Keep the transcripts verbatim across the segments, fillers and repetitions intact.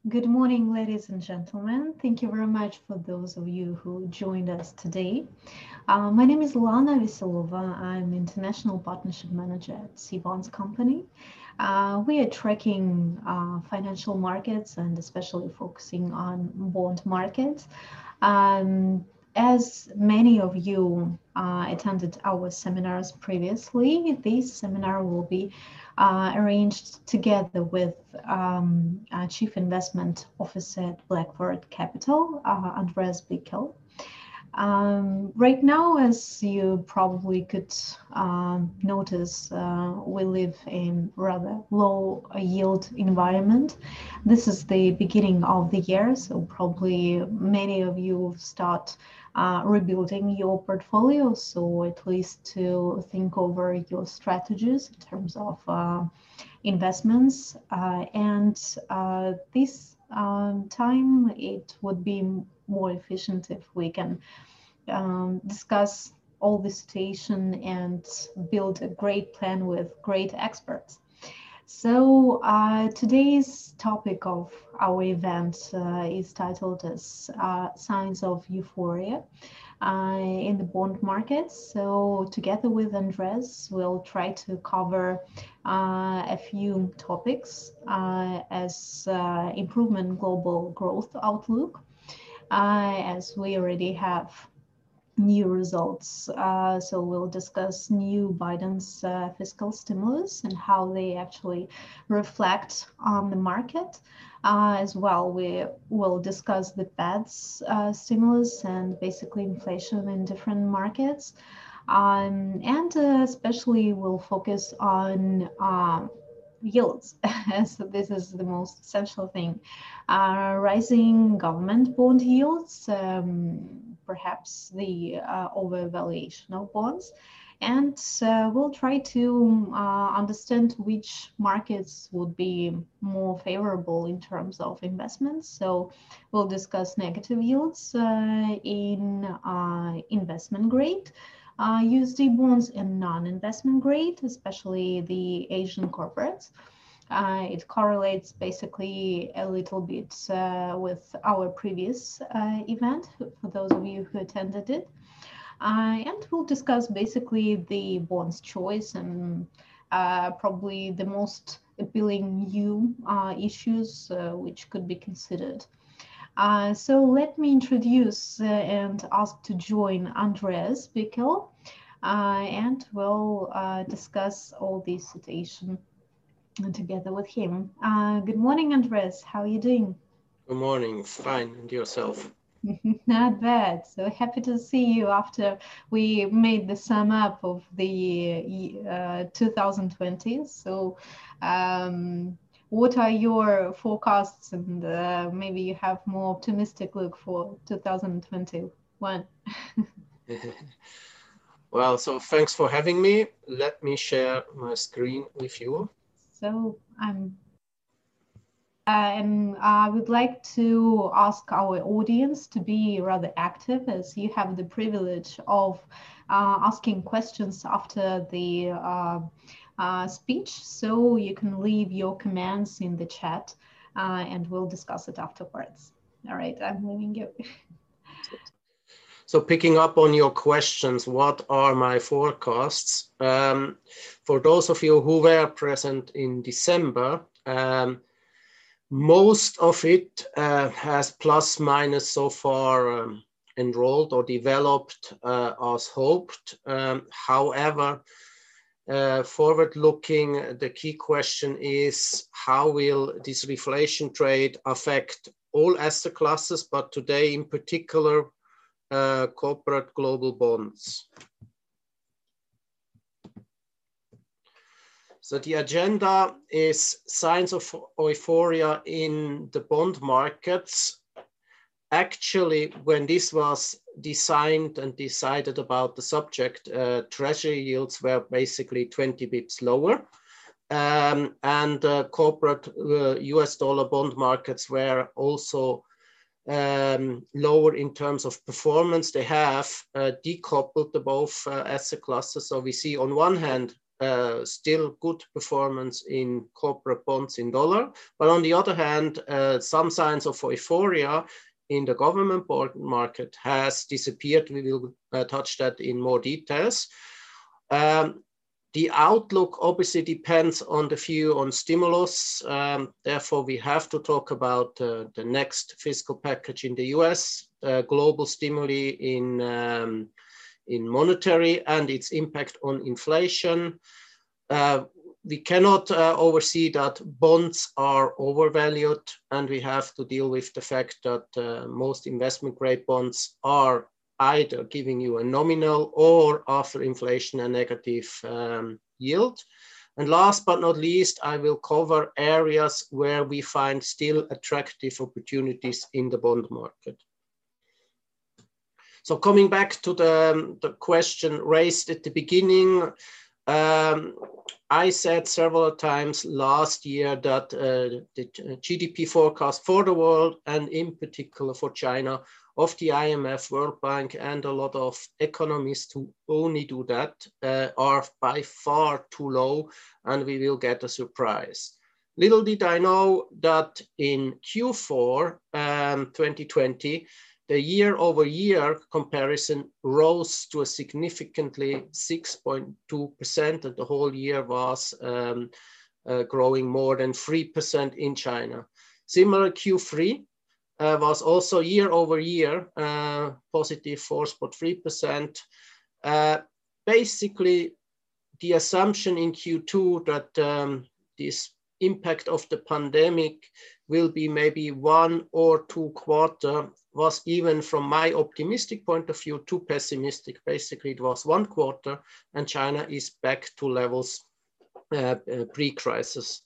Good morning, ladies and gentlemen. Thank you very much for those of you who joined us today. Uh, my name is Lana Veselova. I'm International Partnership Manager at C-Bonds Company. Uh, we are tracking uh, financial markets and especially focusing on bond markets. Um, as many of you uh, attended our seminars previously, this seminar will be uh, arranged together with um, uh, Chief Investment Officer at Blackford Capital, uh, Andreas Bickel. Um, right now, as you probably could um, notice, uh, we live in rather low yield environment. This is the beginning of the year, so probably many of you start uh, rebuilding your portfolio, so at least to think over your strategies in terms of uh, investments. Uh, and uh, this um, time, it would be more efficient if we can um, discuss all the situation and build a great plan with great experts. So uh, today's topic of our event uh, is titled as uh, Signs of Euphoria uh, in the bond market. So together with Andres, we'll try to cover uh, a few topics uh, as uh, improvement global growth outlook, uh, as we already have new results. Uh, so we'll discuss new Biden's uh, fiscal stimulus and how they actually reflect on the market. Uh, as well, we will discuss the Fed's uh, stimulus and basically inflation in different markets. Um, and uh, especially we'll focus on um, yields. So this is the most essential thing. Uh, rising government bond yields, um, perhaps the uh, overvaluation of bonds. And uh, we'll try to uh, understand which markets would be more favorable in terms of investments. So we'll discuss negative yields uh, in uh, investment grade uh, U S D bonds and non-investment grade, especially the Asian corporates. Uh, it correlates basically a little bit uh, with our previous uh, event, for those of you who attended it. Uh, and we'll discuss basically the bonds choice and uh, probably the most appealing new uh, issues uh, which could be considered. Uh, so let me introduce uh, and ask to join Andreas Bickel, uh, and we'll uh, discuss all this situation together with him. Uh, good morning, Andres. How are you doing? Good morning. Fine. And yourself? Not bad. So happy to see you after we made the sum up of the uh, two thousand twenty. So, um, what are your forecasts? And uh, maybe you have more optimistic look for two thousand twenty-one. Well, so thanks for having me. Let me share my screen with you. So I'm Uh, and I would like to ask our audience to be rather active, as you have the privilege of uh, asking questions after the uh, uh, speech. So you can leave your comments in the chat uh, and we'll discuss it afterwards. All right, I'm leaving you. So picking up on your questions, what are my forecasts? Um, for those of you who were present in December, um, most of it uh, has plus minus so far um, enrolled or developed uh, as hoped. Um, however, uh, forward looking, the key question is how will this reflation trade affect all asset classes, but today in particular, uh, corporate global bonds. So the agenda is signs of euphoria in the bond markets. Actually, when this was designed and decided about the subject, uh, treasury yields were basically twenty bips lower. Um, and uh, corporate uh, U S dollar bond markets were also um, lower in terms of performance. They have uh, decoupled the both uh, asset classes. So we see on one hand, uh, still good performance in corporate bonds in dollar. But on the other hand, uh, some signs of euphoria in the government bond market has disappeared. We will uh, touch that in more details. Um, the outlook obviously depends on the view on stimulus. Um, therefore, we have to talk about uh, the next fiscal package in the U S, uh, global stimuli in, um, in monetary and its impact on inflation. Uh, we cannot uh, oversee that bonds are overvalued, and we have to deal with the fact that uh, most investment grade bonds are either giving you a nominal or after inflation a negative um, yield. And last but not least, I will cover areas where we find still attractive opportunities in the bond market. So coming back to the, um, the question raised at the beginning, um, I said several times last year that uh, the G D P forecast for the world, and in particular for China, of the I M F, World Bank, and a lot of economists who only do that uh, are by far too low, and we will get a surprise. Little did I know that in Q four um, twenty twenty, the year-over-year comparison rose to a significantly six point two percent, and the whole year was um, uh, growing more than three percent in China. Similar Q three uh, was also year-over-year uh, positive four point three percent. Uh, basically, the assumption in Q two that um, this impact of the pandemic will be maybe one or two quarter was, even from my optimistic point of view, too pessimistic. Basically, it was one quarter and China is back to levels uh, uh, pre-crisis.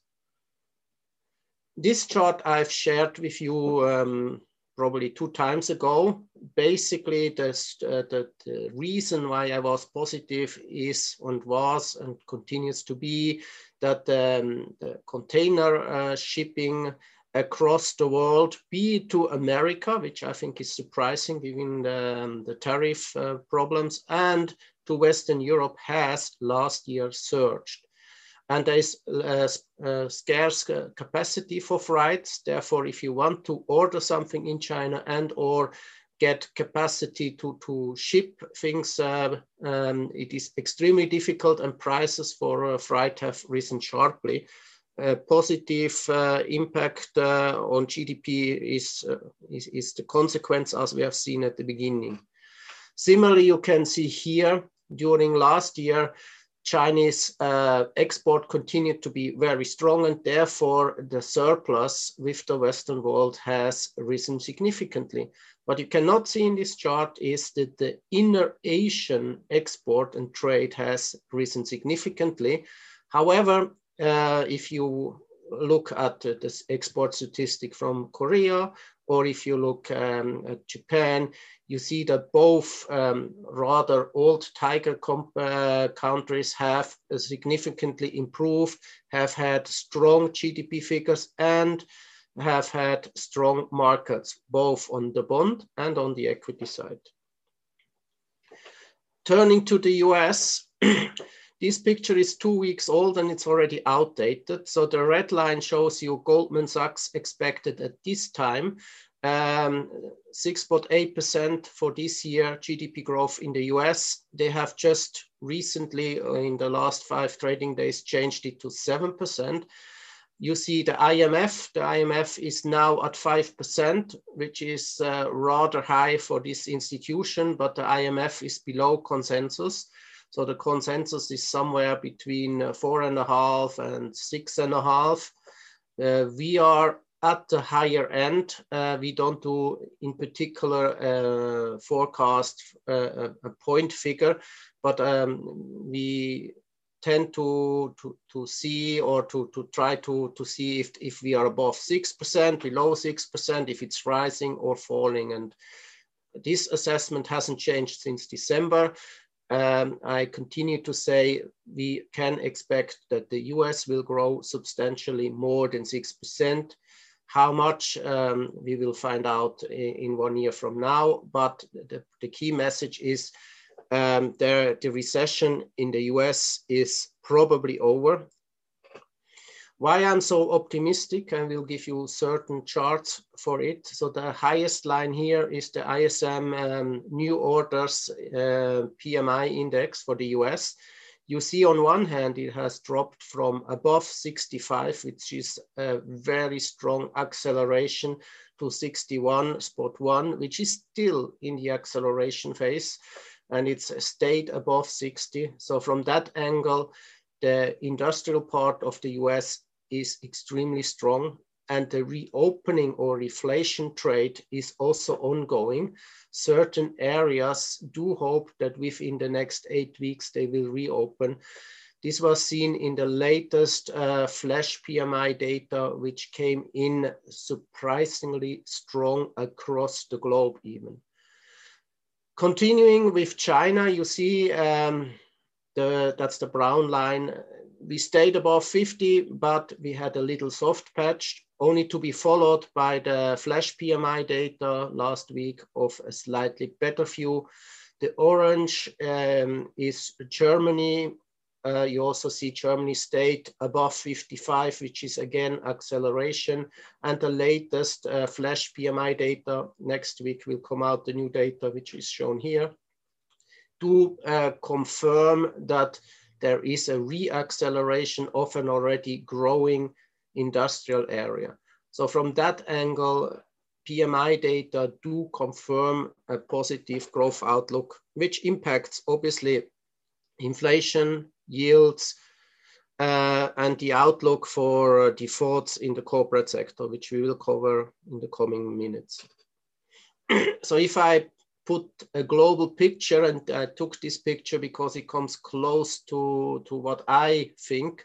This chart I've shared with you um, probably two times ago. Basically, this, uh, the, the reason why I was positive is and was and continues to be that um, the container uh, shipping across the world, be it to America, which I think is surprising given the, um, the tariff uh, problems, and to Western Europe has last year surged. And there is uh, uh, scarce capacity for freights. Therefore, if you want to order something in China and or get capacity to, to ship things, uh, um, it is extremely difficult, and prices for uh, freight have risen sharply. Uh, positive uh, impact uh, on G D P is, uh, is, is the consequence, as we have seen at the beginning. Similarly, you can see here, during last year, Chinese uh, export continued to be very strong, and therefore the surplus with the Western world has risen significantly. What you cannot see in this chart is that the inner Asian export and trade has risen significantly. However, uh, if you look at uh, this export statistic from Korea, or if you look um, at Japan, you see that both um, rather old tiger uh, countries have uh, significantly improved, have had strong G D P figures, and have had strong markets, both on the bond and on the equity side. Turning to the U S, this picture is two weeks old and it's already outdated. So the red line shows you Goldman Sachs expected at this time um, six point eight percent for this year G D P growth in the U S. They have just recently, in the last five trading days, changed it to seven percent. You see the I M F. The I M F is now at five percent, which is uh, rather high for this institution, but the I M F is below consensus. So the consensus is somewhere between uh, four and a half and six and a half. Uh, we are at the higher end. Uh, we don't do, in particular, uh, forecast uh, a point figure, but um, we tend to, to, to see or to, to try to, to see if, if we are above six percent, below six percent, if it's rising or falling. And this assessment hasn't changed since December. Um, I continue to say we can expect that the U S will grow substantially more than six percent. How much um, we will find out in, in one year from now, but the, the key message is um, the, the recession in the U S is probably over. Why I'm so optimistic, I will give you certain charts for it. So the highest line here is the I S M um, new orders uh, P M I index for the U S. You see on one hand, it has dropped from above sixty-five, which is a very strong acceleration, to sixty-one point one, which is still in the acceleration phase, and it's stayed above sixty. So from that angle, the industrial part of the U S is extremely strong, and the reopening or reflation trade is also ongoing. Certain areas do hope that within the next eight weeks they will reopen. This was seen in the latest uh, flash P M I data, which came in surprisingly strong across the globe even. Continuing with China, you see um, the, that's the brown line. We stayed above fifty, but we had a little soft patch, only to be followed by the flash P M I data last week of a slightly better view. The orange um, is Germany. Uh, you also see Germany stayed above fifty-five, which is again acceleration. And the latest uh, flash P M I data next week will come out, the new data, which is shown here, to uh, confirm that there is a re-acceleration of an already growing industrial area. So from that angle, P M I data do confirm a positive growth outlook, which impacts obviously inflation, yields, uh, and the outlook for defaults in the corporate sector, which we will cover in the coming minutes. So if I put a global picture, and I took this picture because it comes close to, to what I think.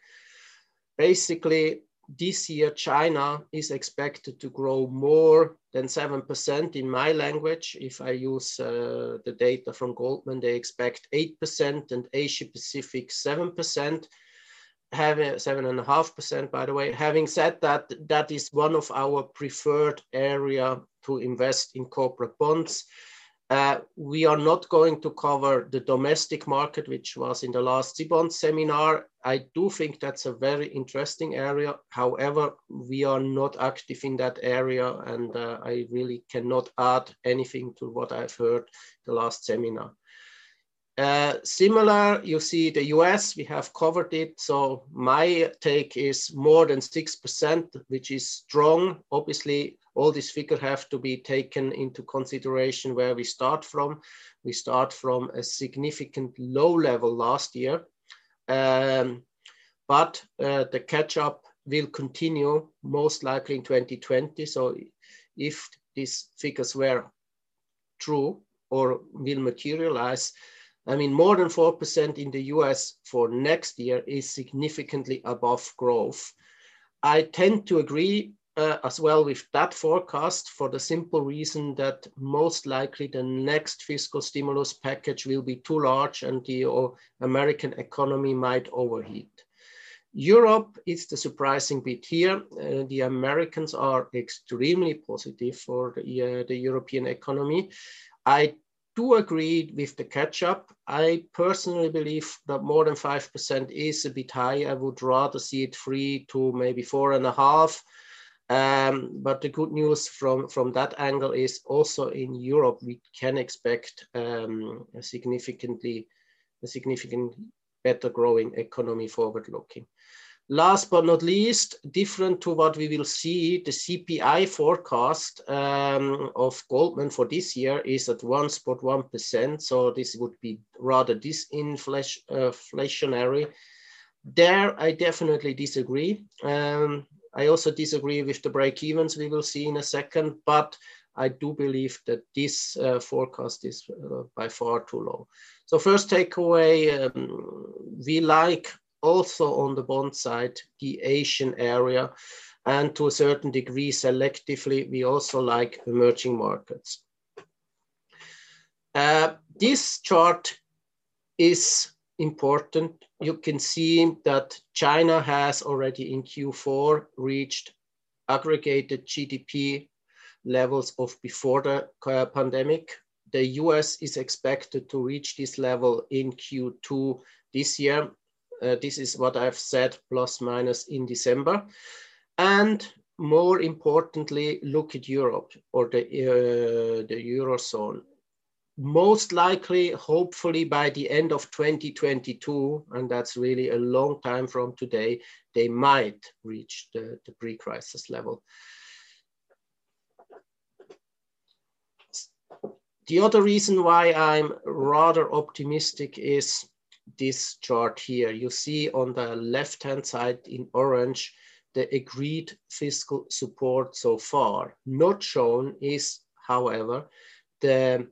Basically, this year, China is expected to grow more than seven percent in my language. If I use uh, the data from Goldman, they expect eight percent, and Asia Pacific seven percent. Having seven and a half percent, by the way. Having said that, that is one of our preferred area to invest in corporate bonds. Uh, we are not going to cover the domestic market, which was in the last C bond seminar. I do think that's a very interesting area. However, we are not active in that area, and uh, I really cannot add anything to what I've heard the last seminar. Uh, similar, you see the U S, we have covered it. So my take is more than six percent, which is strong. Obviously, all these figures have to be taken into consideration where we start from. We start from a significant low level last year, um, but uh, the catch up will continue most likely in twenty twenty. So if these figures were true or will materialize, I mean, more than four percent in the U S for next year is significantly above growth. I tend to agree uh, as well with that forecast, for the simple reason that most likely the next fiscal stimulus package will be too large and the uh, American economy might overheat. Europe is the surprising bit here. Uh, the Americans are extremely positive for the, uh, the European economy. I do agree with the catch-up. I personally believe that more than five percent is a bit high. I would rather see it three to maybe four and a half. Um, but the good news from, from that angle is also in Europe, we can expect um, a significantly, a significant better growing economy forward-looking. Last but not least, different to what we will see, the C P I forecast um, of Goldman for this year is at one point one percent. So this would be rather disinflationary. There, I definitely disagree. Um, I also disagree with the break-evens we will see in a second, but I do believe that this uh, forecast is uh, by far too low. So first takeaway, um, we like also on the bond side, the Asian area, and to a certain degree, selectively, we also like emerging markets. Uh, this chart is important. You can see that China has already in Q four reached aggregated G D P levels of before the pandemic. The U S is expected to reach this level in Q two this year. Uh, this is what I've said, plus minus in December. And more importantly, look at Europe or the, uh, the Eurozone. Most likely, hopefully by the end of twenty twenty-two, and that's really a long time from today, they might reach the, the pre-crisis level. The other reason why I'm rather optimistic is this chart here. You see on the left-hand side in orange, the agreed fiscal support so far. Not shown is, however, the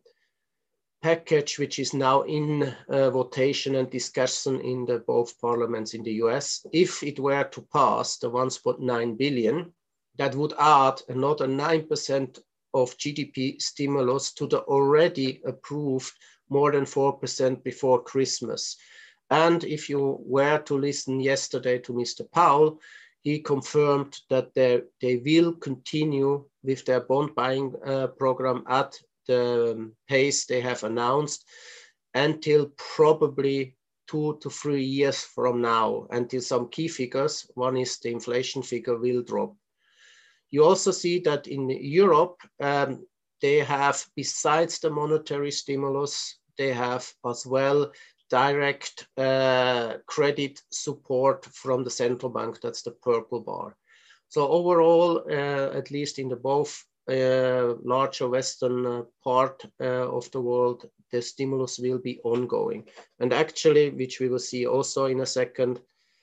package which is now in uh, votation and discussion in the both parliaments in the U S. If it were to pass the one point nine billion, that would add another nine percent of G D P stimulus to the already approved more than four percent before Christmas. And if you were to listen yesterday to Mister Powell, he confirmed that they, they will continue with their bond buying uh, program at the pace they have announced until probably two to three years from now, until some key figures, one is the inflation figure, will drop. You also see that in Europe, um, they have, besides the monetary stimulus, they have as well direct uh, credit support from the central bank. That's the purple bar. So overall, uh, at least in the both uh, larger Western uh, part uh, of the world, the stimulus will be ongoing. And actually, which we will see also in a second,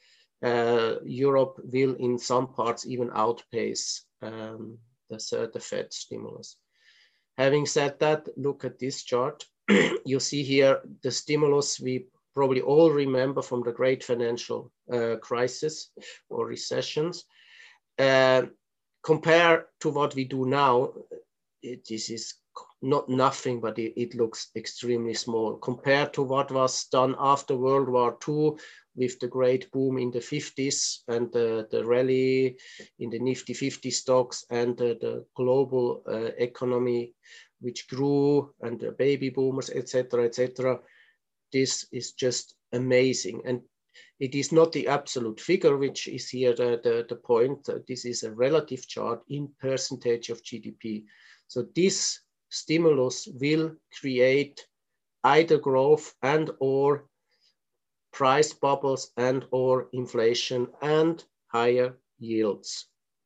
uh, Europe will in some parts even outpace um, the, uh, the Fed stimulus. Having said that, look at this chart. You see here the stimulus we probably all remember from the great financial uh, crisis or recessions. Uh, compare to what we do now, it, this is not nothing, but it, it looks extremely small. Compared to what was done after World War Two with the great boom in the fifties and the, the rally in the Nifty fifty stocks and the, the global uh, economy, which grew, and the baby boomers, et cetera, et cetera. This is just amazing. And it is not the absolute figure, which is here the, the, the point. This is a relative chart in percentage of G D P. So this stimulus will create either growth and or price bubbles and or inflation and higher yields.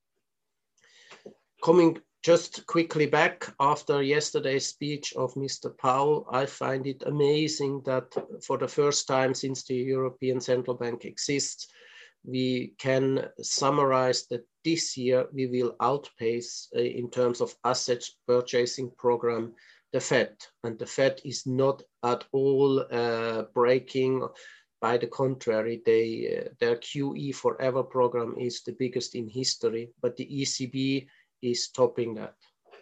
Coming just quickly back after yesterday's speech of Mister Powell, I find it amazing that for the first time since the European Central Bank exists, we can summarize that this year we will outpace uh, in terms of asset purchasing program the Fed. And the Fed is not at all uh, breaking. By the contrary, they, uh, their Q E Forever program is the biggest in history, but the E C B is topping that.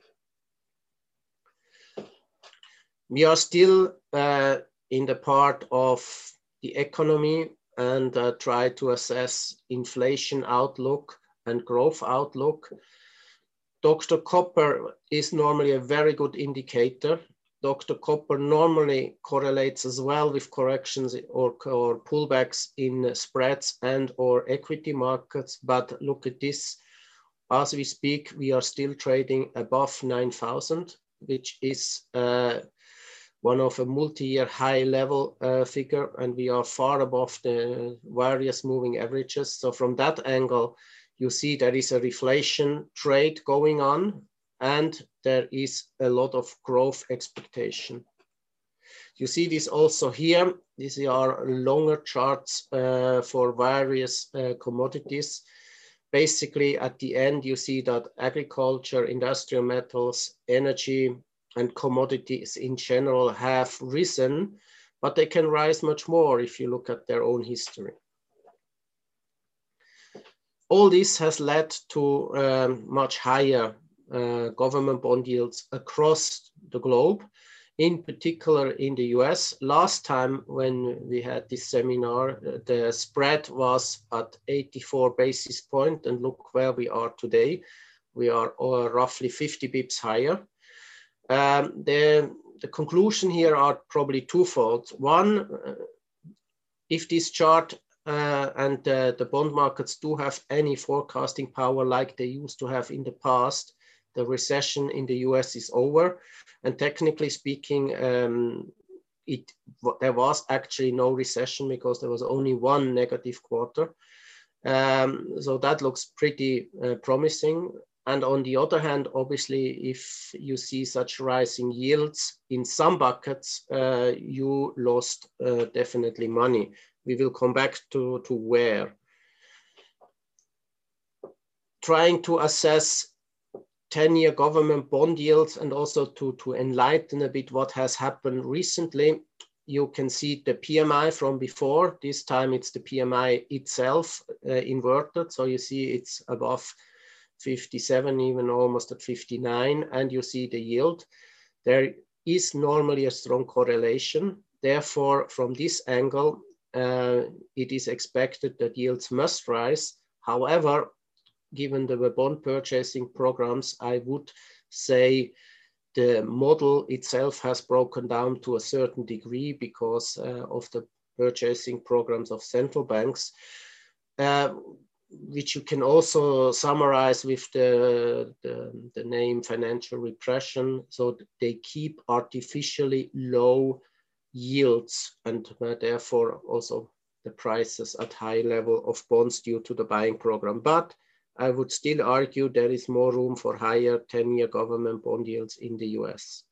We are still uh, in the part of the economy and uh, try to assess inflation outlook and growth outlook. Doctor Copper is normally a very good indicator. Doctor Copper normally correlates as well with corrections or, or pullbacks in spreads and or equity markets, but look at this. As we speak, we are still trading above nine thousand, which is uh, one of a multi-year high level uh, figure, and we are far above the various moving averages. So from that angle, you see there is a reflation trade going on, and there is a lot of growth expectation. You see this also here. These are longer charts uh, for various uh, commodities. Basically, at the end, you see that agriculture, industrial metals, energy, and commodities in general have risen, but they can rise much more if you look at their own history. All this has led to um, much higher uh, government bond yields across the globe, in particular in the U S. Last time when we had this seminar, the spread was at eighty-four basis points, and look where we are today. We are uh, roughly fifty bips higher. Um, the, the conclusion here are probably twofold. One, uh, if this chart uh, and uh, the bond markets do have any forecasting power like they used to have in the past, the recession in the U S is over. And technically speaking, um, it there was actually no recession because there was only one negative quarter. Um, so that looks pretty uh, promising. And on the other hand, obviously, if you see such rising yields in some buckets, uh, you lost uh, definitely money. We will come back to, to where. Trying to assess ten-year government bond yields and also to, to enlighten a bit what has happened recently. You can see the P M I from before. This time it's the P M I itself uh, inverted. So you see it's above fifty-seven, even almost at fifty-nine, and you see the yield. There is normally a strong correlation. Therefore, from this angle, uh, it is expected that yields must rise. However, given the bond purchasing programs, I would say the model itself has broken down to a certain degree because uh, of the purchasing programs of central banks, uh, which you can also summarize with the, the, the name financial repression. So they keep artificially low yields and uh, therefore also the prices at high level of bonds due to the buying program. But I would still argue there is more room for higher ten-year government bond yields in the U S.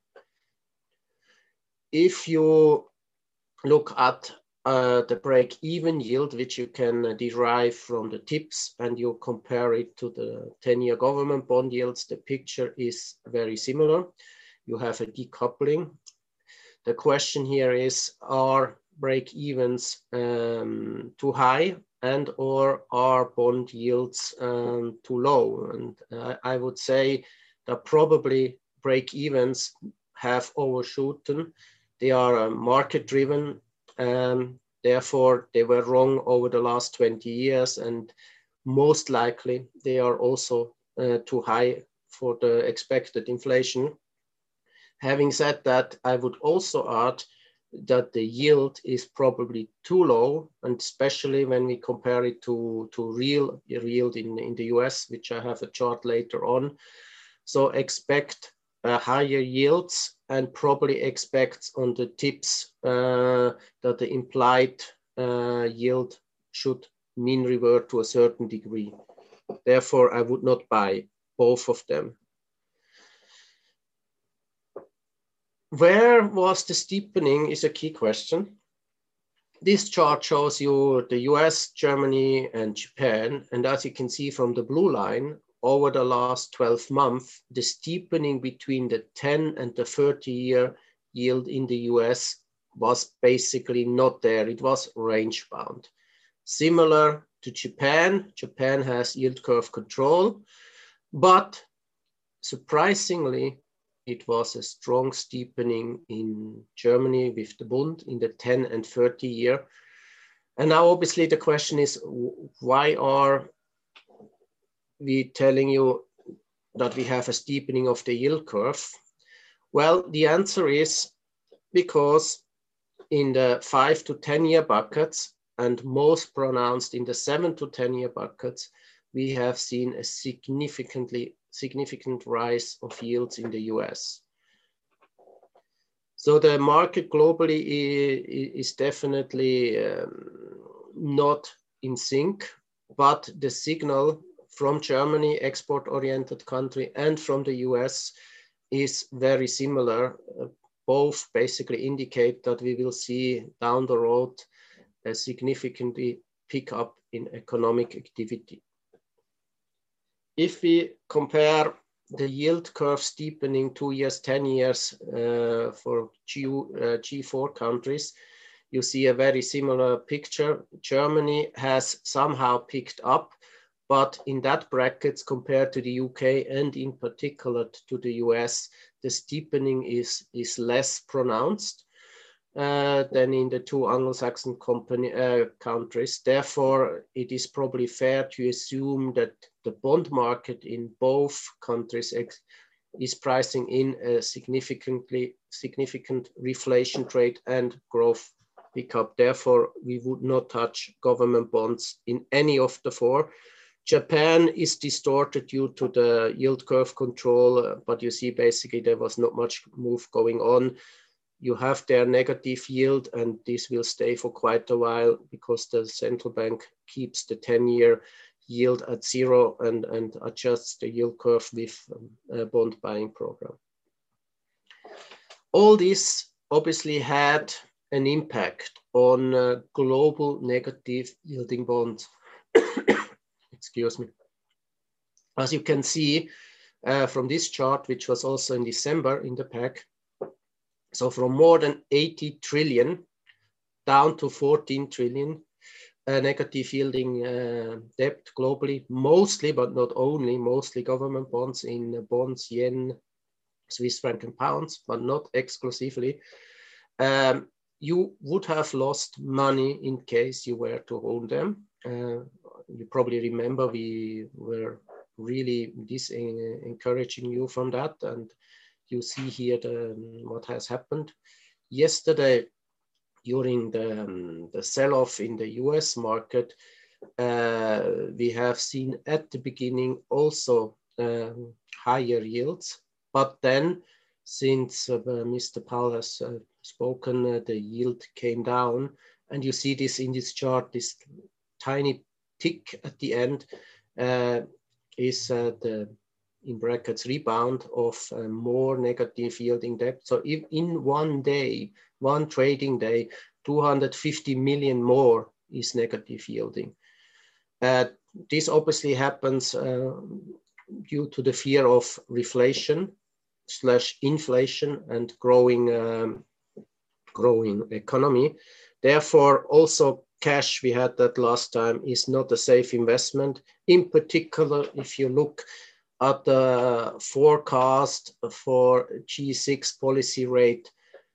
If you look at uh, the break-even yield, which you can derive from the tips, and you compare it to the ten-year government bond yields, the picture is very similar. You have a decoupling. The question here is, are break-evens um, too high and or are bond yields um, too low? And uh, I would say that probably break-evens have overshooten. They are uh, market-driven. Um, therefore, they were wrong over the last twenty years, and most likely they are also uh, too high for the expected inflation. Having said that, I would also add that the yield is probably too low, and especially when we compare it to, to real yield in, in the U S, which I have a chart later on. So expect uh, higher yields and probably expect on the tips uh, that the implied uh, yield should mean revert to a certain degree. Therefore, I would not buy both of them. Where was the steepening is a key question. This chart shows you the U S, Germany, and Japan. And as you can see from the blue line, over the last twelve months, the steepening between the ten and the thirty year yield in the U S was basically not there. It was range bound. Similar to Japan, Japan has yield curve control, but surprisingly, it was a strong steepening in Germany with the Bund in the ten and thirty year. And now obviously the question is, why are we telling you that we have a steepening of the yield curve? Well, the answer is because in the five to ten year buckets and most pronounced in the seven to ten year buckets, we have seen a significantly significant rise of yields in the U S. So the market globally is definitely um, not in sync, but the signal from Germany, export-oriented country, and from the U S is very similar. Uh, both basically indicate that we will see down the road a significantly pick up in economic activity. If we compare the yield curve steepening two years, ten years uh, for G, uh, G four countries, you see a very similar picture. Germany has somehow picked up, but in that brackets compared to the U K and in particular to the U S, the steepening is, is less pronounced uh, than in the two Anglo-Saxon company, uh, countries. Therefore, it is probably fair to assume that the bond market in both countries is pricing in a significantly significant reflation trade and growth pick up. Therefore, we would not touch government bonds in any of the four. Japan is distorted due to the yield curve control, but you see basically there was not much move going on. You have their negative yield, and this will stay for quite a while because the central bank keeps the ten-year yield at zero and, and adjusts the yield curve with um, a bond buying program. All this obviously had an impact on uh, global negative yielding bonds. Excuse me. As you can see uh, from this chart, which was also in December in the pack, so from more than eighty trillion down to fourteen trillion uh, negative yielding uh, debt globally, mostly, but not only, mostly government bonds in uh, bonds, yen, Swiss franc and pounds, but not exclusively. Um, you would have lost money in case you were to hold them. Uh, you probably remember we were really dis encouraging you from that, and you see here the, what has happened. Yesterday, during the, um, the sell-off in the U S market, uh, we have seen at the beginning also um, higher yields, but then since uh, Mister Powell has uh, spoken, uh, the yield came down, and you see this in this chart, this tiny tick at the end uh, is uh, the in brackets rebound of uh, more negative yielding debt. So if in one day, one trading day, two hundred fifty million more is negative yielding. Uh, this obviously happens uh, due to the fear of reflation slash inflation and growing, um, growing economy. Therefore, also cash, we had that last time, is not a safe investment. In particular, if you look at the forecast for G six policy rate,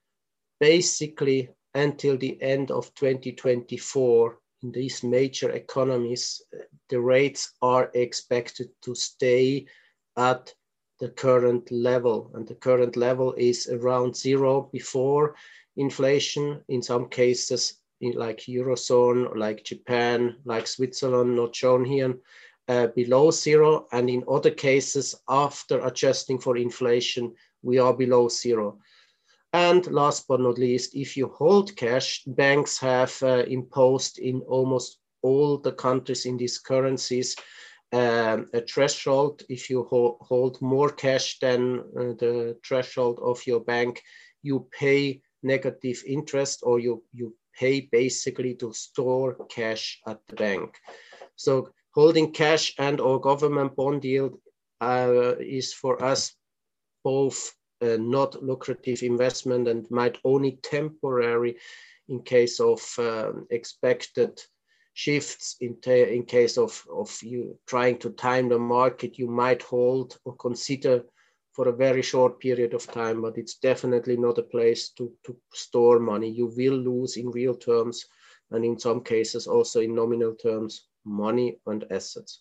basically until the end of twenty twenty-four, in these major economies, the rates are expected to stay at the current level. And the current level is around zero before inflation. In some cases, in like Eurozone, like Japan, like Switzerland, not shown here, Uh, below zero, and in other cases, after adjusting for inflation, we are below zero. And last but not least, if you hold cash, banks have uh, imposed in almost all the countries in these currencies um, a threshold. If you ho hold more cash than uh, the threshold of your bank, you pay negative interest, or you, you pay basically to store cash at the bank. So holding cash and or government bond yield uh, is for us both uh, not lucrative investment and might only temporary in case of um, expected shifts. In, in case of, of you trying to time the market, you might hold or consider for a very short period of time, but it's definitely not a place to, to store money. You will lose in real terms, and in some cases also in nominal terms, money and assets.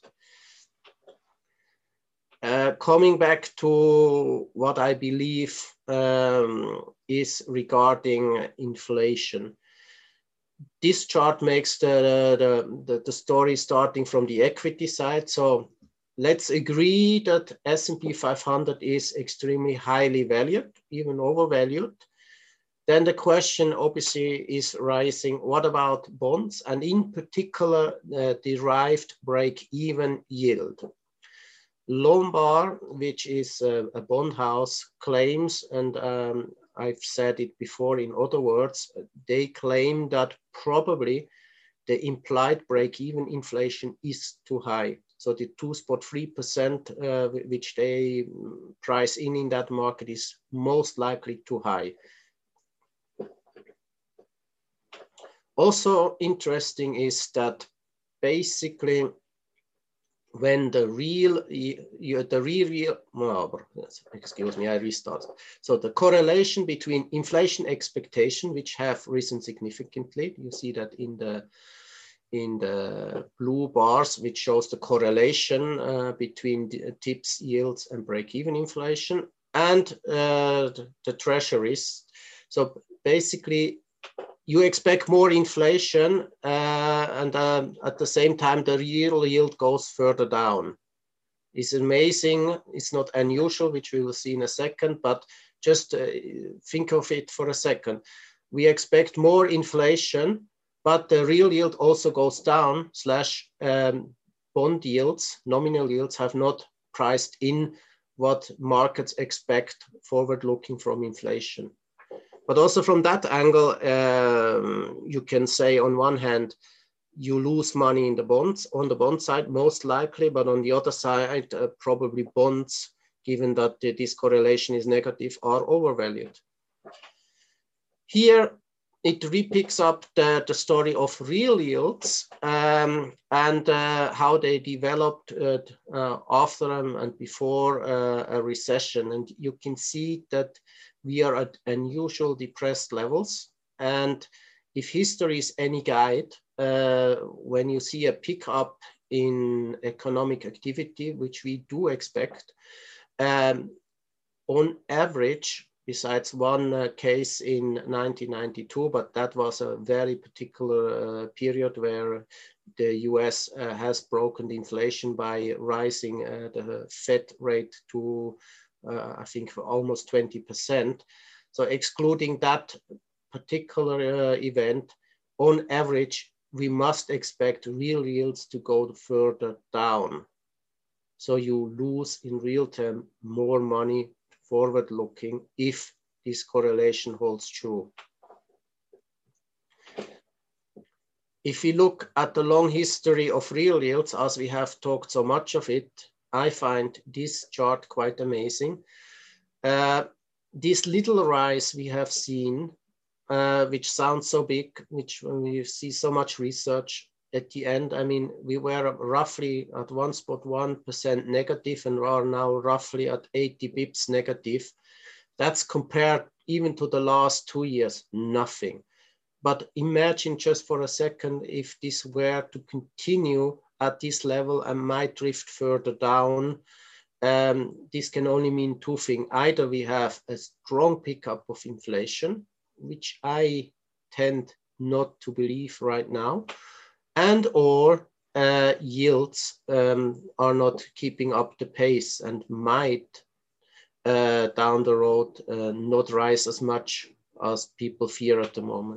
Uh, coming back to what I believe um, is regarding inflation. This chart makes the, the, the, the story starting from the equity side. So let's agree that S and P five hundred is extremely highly valued, even overvalued. Then the question obviously is rising, what about bonds, and in particular uh, derived break-even yield? Lombard, which is a, a bond house, claims, and um, I've said it before in other words, they claim that probably the implied break-even inflation is too high. So the two point three percent uh, which they price in in that market is most likely too high. Also interesting is that basically when the real, you, the real, real well, excuse me, I restart. So the correlation between inflation expectation, which have risen significantly, you see that in the in the blue bars, which shows the correlation uh, between the tips, yields, and break-even inflation, and uh, the, the treasuries. So basically, you expect more inflation, uh, and uh, at the same time, the real yield goes further down. It's amazing. It's not unusual, which we will see in a second, but just uh, think of it for a second. We expect more inflation, but the real yield also goes down, slash um, bond yields, nominal yields have not priced in what markets expect forward-looking from inflation. But also from that angle, um, you can say on one hand, you lose money in the bonds, on the bond side, most likely, but on the other side, uh, probably bonds, given that the, this correlation is negative, are overvalued. Here, it repicks up the, the story of real yields um, and uh, how they developed uh, uh, after and before uh, a recession. And you can see that we are at unusual depressed levels. And if history is any guide, uh, when you see a pickup in economic activity, which we do expect, um, on average, besides one uh, case in nineteen ninety-two, but that was a very particular uh, period where the U S uh, has broken the inflation by rising uh, the Fed rate to, uh, I think, almost twenty percent. So excluding that particular uh, event, on average, we must expect real yields to go further down. So you lose in real term more money forward looking if this correlation holds true. If we look at the long history of real yields, as we have talked so much of it, I find this chart quite amazing. Uh, this little rise we have seen, uh, which sounds so big, which when we see so much research at the end, I mean, we were roughly at one point one percent negative and are now roughly at eighty bips negative. That's compared even to the last two years, nothing. But imagine just for a second if this were to continue at this level and might drift further down. Um, this can only mean two things. Either we have a strong pickup of inflation, which I tend not to believe right now, and or uh, yields um, are not keeping up the pace and might uh, down the road uh, not rise as much as people fear at the moment.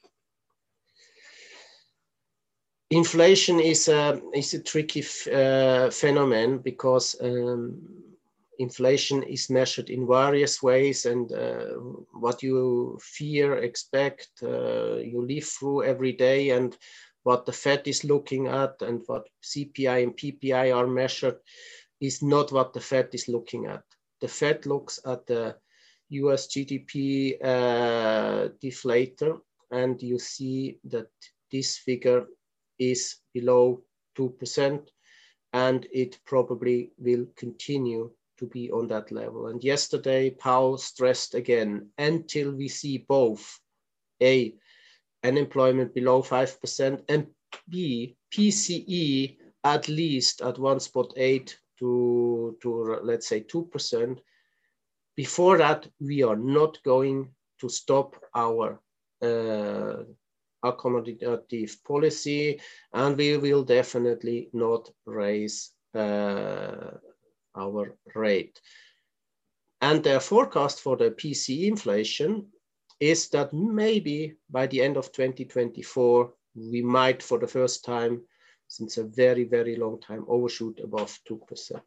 Inflation is a, is a tricky uh, phenomenon because um, inflation is measured in various ways, and uh, what you fear, expect, uh, you live through every day, and what the Fed is looking at and what C P I and P P I are measured is not what the Fed is looking at. The Fed looks at the U S G D P uh, deflator, and you see that this figure is below two percent, and it probably will continue to be on that level. And yesterday, Powell stressed again, until we see both A, unemployment below five percent, and B, P C E at least at one point eight to, to let's say two percent. Before that, we are not going to stop our uh, accommodative policy, and we will definitely not raise uh, our rate. And their forecast for the P C E inflation is that maybe by the end of twenty twenty-four, we might, for the first time since a very, very long time, overshoot above two percent.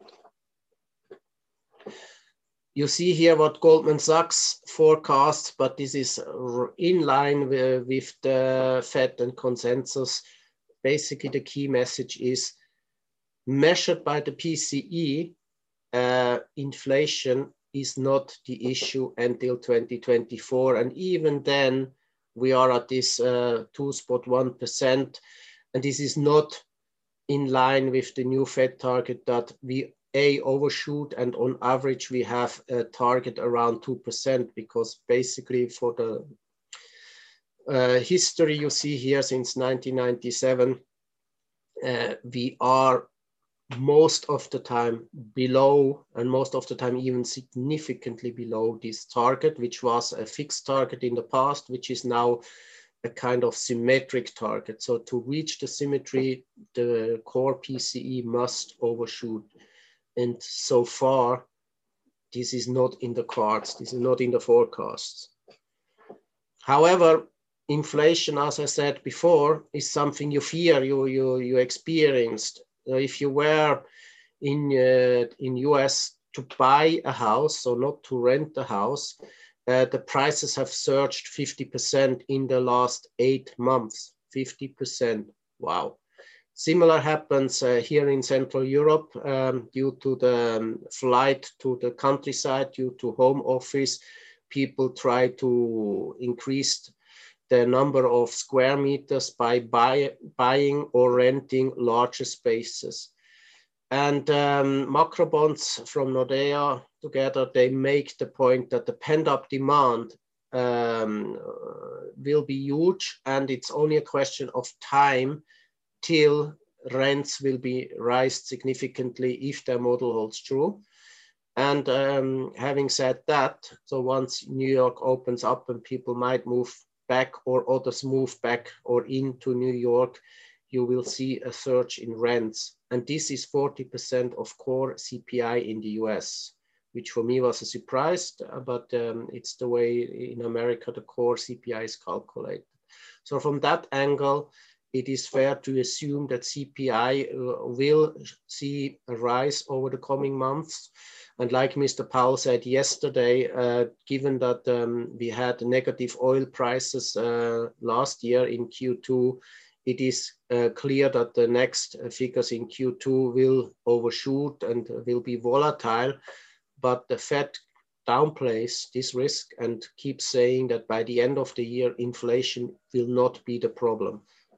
You see here what Goldman Sachs forecasts, but this is in line with, with the Fed and consensus. Basically, the key message is measured by the P C E, uh, inflation is not the issue until twenty twenty-four. And even then, we are at this uh, two point one percent. And this is not in line with the new Fed target that we A, overshoot, and on average we have a target around two percent, because basically for the uh, history you see here since nineteen ninety-seven, uh, we are most of the time below, and most of the time even significantly below this target, which was a fixed target in the past, which is now a kind of symmetric target. So to reach the symmetry, the core P C E must overshoot. And so far, this is not in the cards. This is not in the forecasts. However, inflation, as I said before, is something you fear, you, you, you experienced. So if you were in, uh, in U S to buy a house, so not to rent a house, uh, the prices have surged fifty percent in the last eight months, fifty percent, wow. Similar happens uh, here in Central Europe um, due to the um, flight to the countryside, due to home office. People try to increase the number of square meters by buy, buying or renting larger spaces. And um, macro bonds from Nordea together, they make the point that the pent-up demand um, will be huge, and it's only a question of time till rents will be raised significantly if their model holds true. And um, having said that, so once New York opens up and people might move back or others move back or into New York, you will see a surge in rents. And this is forty percent of core C P I in the U S, which for me was a surprise, but um, it's the way in America the core C P I is calculated. So from that angle, it is fair to assume that C P I uh, will see a rise over the coming months. And like Mister Powell said yesterday, uh, given that um, we had negative oil prices uh, last year in Q two, it is uh, clear that the next figures in Q two will overshoot and will be volatile. But the Fed downplays this risk and keeps saying that by the end of the year, inflation will not be the problem.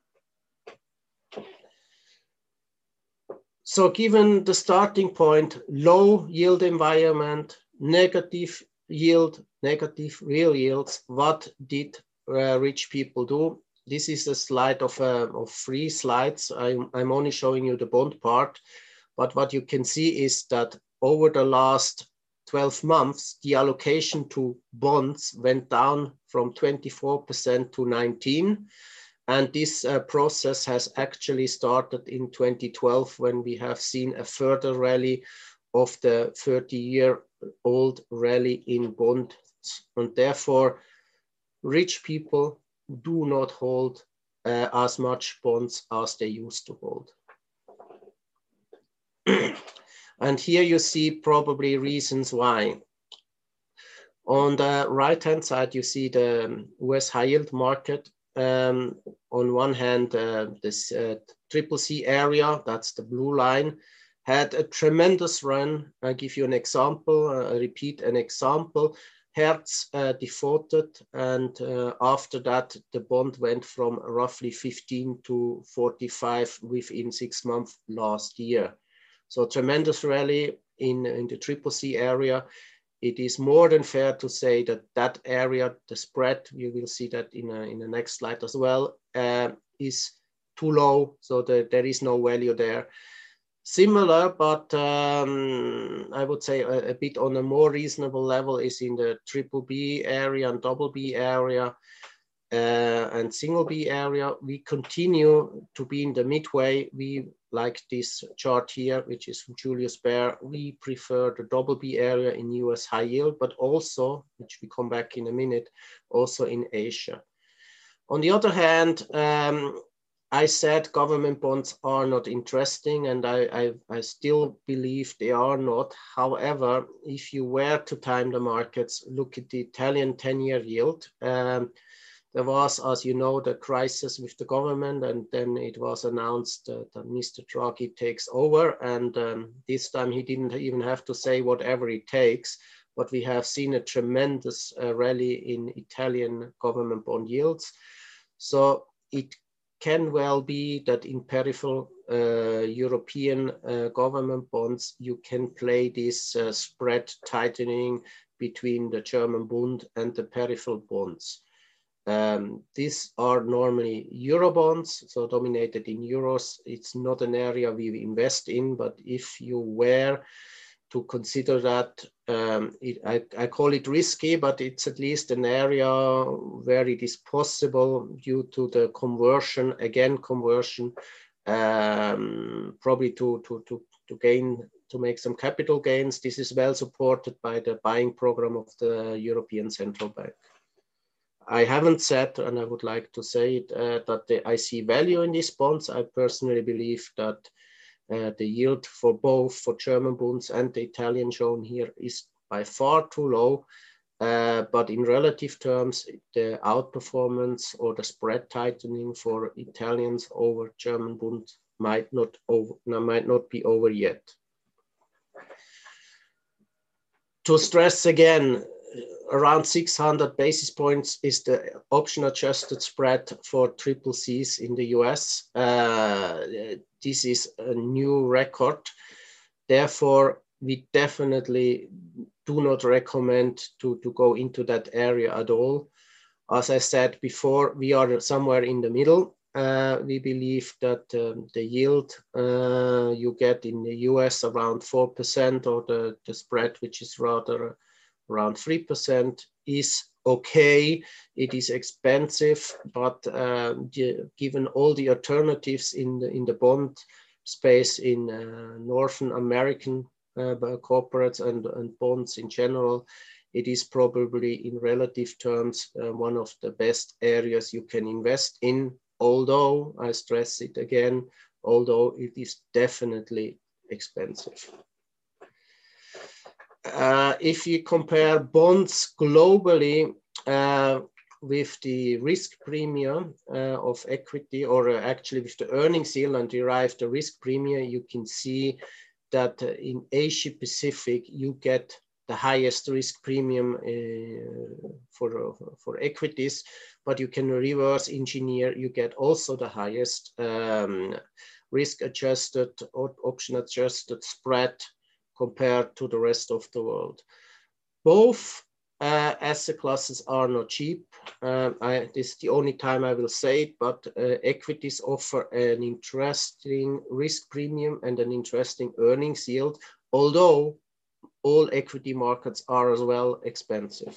So given the starting point, low yield environment, negative yield, negative real yields, what did uh, rich people do? This is a slide of, uh, of three slides. I'm, I'm only showing you the bond part, but what you can see is that over the last twelve months, the allocation to bonds went down from twenty-four percent to nineteen. And this uh, process has actually started in twenty twelve when we have seen a further rally of the thirty-year-old rally in bonds. And therefore, rich people do not hold uh, as much bonds as they used to hold. And here you see probably reasons why. On the right-hand side, you see the U S high yield market. Um, on one hand, uh, this uh, triple C area, that's the blue line, had a tremendous run. I'll give you an example, uh, I repeat an example. Hertz uh, defaulted, and uh, after that, the bond went from roughly fifteen to forty-five within six months last year. So tremendous rally in, in the triple C area. It is more than fair to say that that area, the spread, you will see that in, a, in the next slide as well, uh, is too low, so that there is no value there. Similar, but um, I would say a, a bit on a more reasonable level is in the triple B area and double B area uh, and single B area. We continue to be in the midway. We like this chart here, which is from Julius Baer. We prefer the double B area in U S high yield, but also, which we come back in a minute, also in Asia. On the other hand, um, I said government bonds are not interesting, and I, I, I still believe they are not. However, if you were to time the markets, look at the Italian ten-year yield. Um, there was, as you know, the crisis with the government, and then it was announced uh, that Mister Draghi takes over. And um, this time he didn't even have to say whatever it takes, but we have seen a tremendous uh, rally in Italian government bond yields. So it can well be that in peripheral uh, European uh, government bonds, you can play this uh, spread tightening between the German Bund and the peripheral bonds. Um, these are normally Euro bonds, so dominated in euros. It's not an area we invest in, but if you were to consider that. Um, it, I, I call it risky, but it's at least an area where it is possible due to the conversion, again, conversion, um, probably to, to, to, to gain, to make some capital gains. This is well supported by the buying program of the European Central Bank. I haven't said, and I would like to say it, uh, that the, I see value in these bonds. I personally believe that uh, the yield for both, for German bonds and the Italian shown here, is by far too low. Uh, but in relative terms, the outperformance or the spread tightening for Italians over German bonds might not over, might not be over yet. To stress again, around six hundred basis points is the option adjusted spread for triple Cs in the U S. Uh, this is a new record. Therefore, we definitely do not recommend to, to go into that area at all. As I said before, we are somewhere in the middle. Uh, we believe that um, the yield uh, you get in the U S around four percent, or the, the spread, which is rather around three percent, is okay. It is expensive, but uh, the, given all the alternatives in the, in the bond space in uh, Northern American uh, corporates and, and bonds in general, it is probably in relative terms uh, one of the best areas you can invest in. Although, I stress it again, although it is definitely expensive. Uh, if you compare bonds globally uh, with the risk premium uh, of equity, or uh, actually with the earnings yield, and derive the risk premium, you can see that uh, in Asia Pacific, you get the highest risk premium uh, for, uh, for equities, but you can reverse engineer, you get also the highest um, risk adjusted or option adjusted spread compared to the rest of the world. Both uh, asset classes are not cheap. Um, I, this is the only time I will say it, but uh, equities offer an interesting risk premium and an interesting earnings yield, although all equity markets are as well expensive.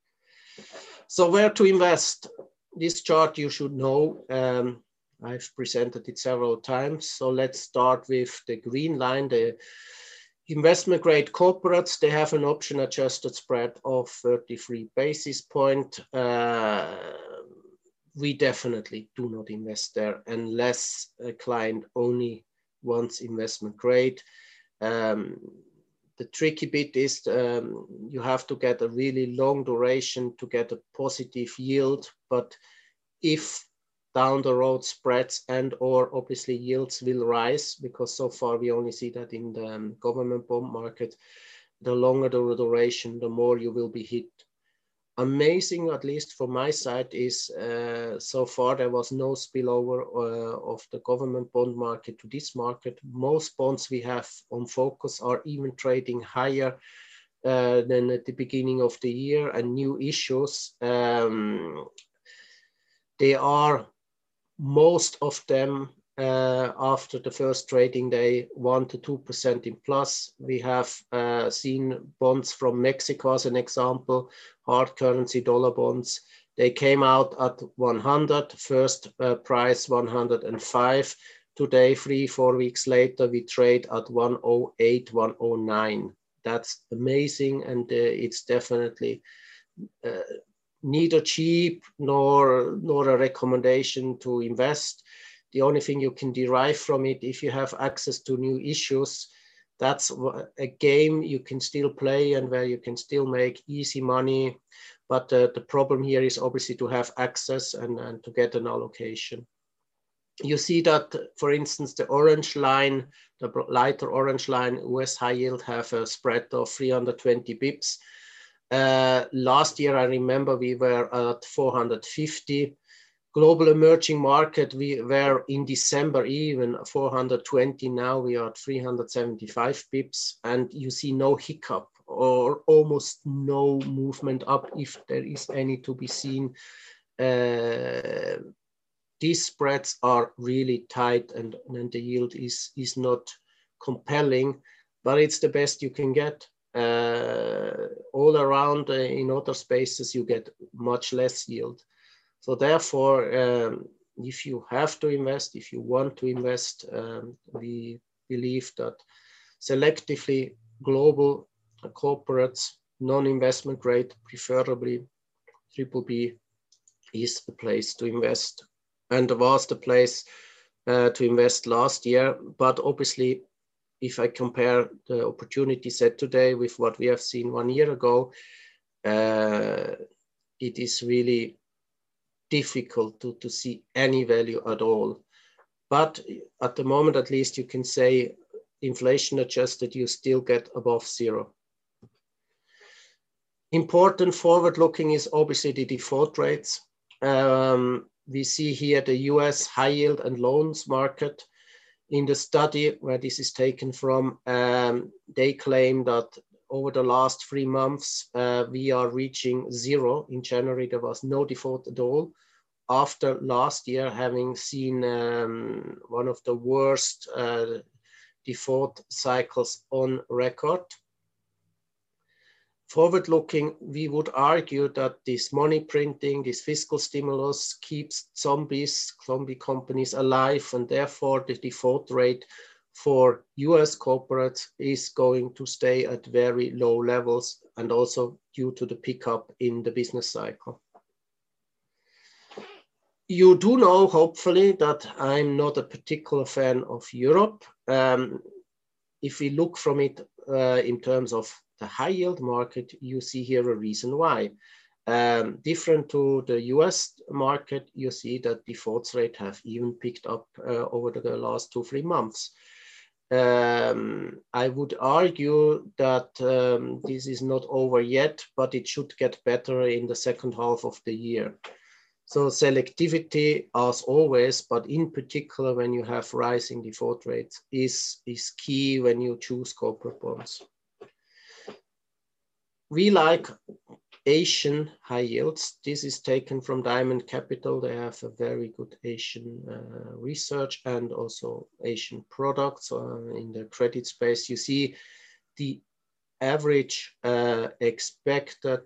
So where to invest? This chart you should know. Um, I've presented it several times. So let's start with the green line, the investment grade corporates. They have an option adjusted spread of thirty-three basis points. Uh, we definitely do not invest there unless a client only wants investment grade. Um, The tricky bit is um, you have to get a really long duration to get a positive yield. But if down the road spreads and or obviously yields will rise, because so far we only see that in the um, government bond market, the longer the duration, the more you will be hit. Amazing, at least from my side, is uh, so far there was no spillover uh, of the government bond market to this market. Most bonds we have on focus are even trading higher uh, than at the beginning of the year, and new issues. Um, they are, most of them, uh, after the first trading day, one to two percent in plus. We have uh, seen bonds from Mexico as an example, hard currency dollar bonds. They came out at one hundred, first uh, price one hundred five. Today, three, four weeks later, we trade at one oh eight, one oh nine. That's amazing, and uh, it's definitely uh, neither cheap nor, nor a recommendation to invest. The only thing you can derive from it, if you have access to new issues, that's a game you can still play and where you can still make easy money. But uh, the problem here is obviously to have access and, and to get an allocation. You see that, for instance, the orange line, the lighter orange line, U S high yield have a spread of three hundred twenty bips. Uh, last year, I remember we were at four hundred fifty. Global emerging market, we were in December even four hundred twenty. Now we are at three hundred seventy-five pips, and you see no hiccup or almost no movement up, if there is any to be seen. Uh, these spreads are really tight, and, and the yield is, is not compelling. but it's the best you can get. Uh, all around uh, in other spaces, you get much less yield. So therefore, um, if you have to invest, if you want to invest, um, we believe that selectively global corporates, non-investment grade, preferably triple B, is the place to invest, and was the place uh, to invest last year. But obviously, if I compare the opportunity set today with what we have seen one year ago, uh, it is really difficult to, to see any value at all. But at the moment, at least, you can say inflation adjusted, you still get above zero. Important forward looking is obviously the default rates. Um, we see here the U S high yield and loans market. In the study where this is taken from, um, they claim that over the last three months, uh, we are reaching zero. In January, there was no default at all, after last year having seen um, one of the worst uh, default cycles on record. Forward looking, we would argue that this money printing, this fiscal stimulus keeps zombies, zombie companies alive, and therefore the default rate for U S corporates is going to stay at very low levels, and also due to the pickup in the business cycle. You do know, hopefully, that I'm not a particular fan of Europe. Um, if we look from it uh, in terms of the high yield market, you see here a reason why. Um, different to the U S market, you see that defaults rate have even picked up uh, over the last two, three months. Um, I would argue that um, this is not over yet, but it should get better in the second half of the year. So selectivity, as always, but in particular when you have rising default rates, is, is key when you choose corporate bonds. We like Asian high yields. This is taken from Diamond Capital. They have a very good Asian uh, research and also Asian products uh, in the credit space. You see the average uh, expected,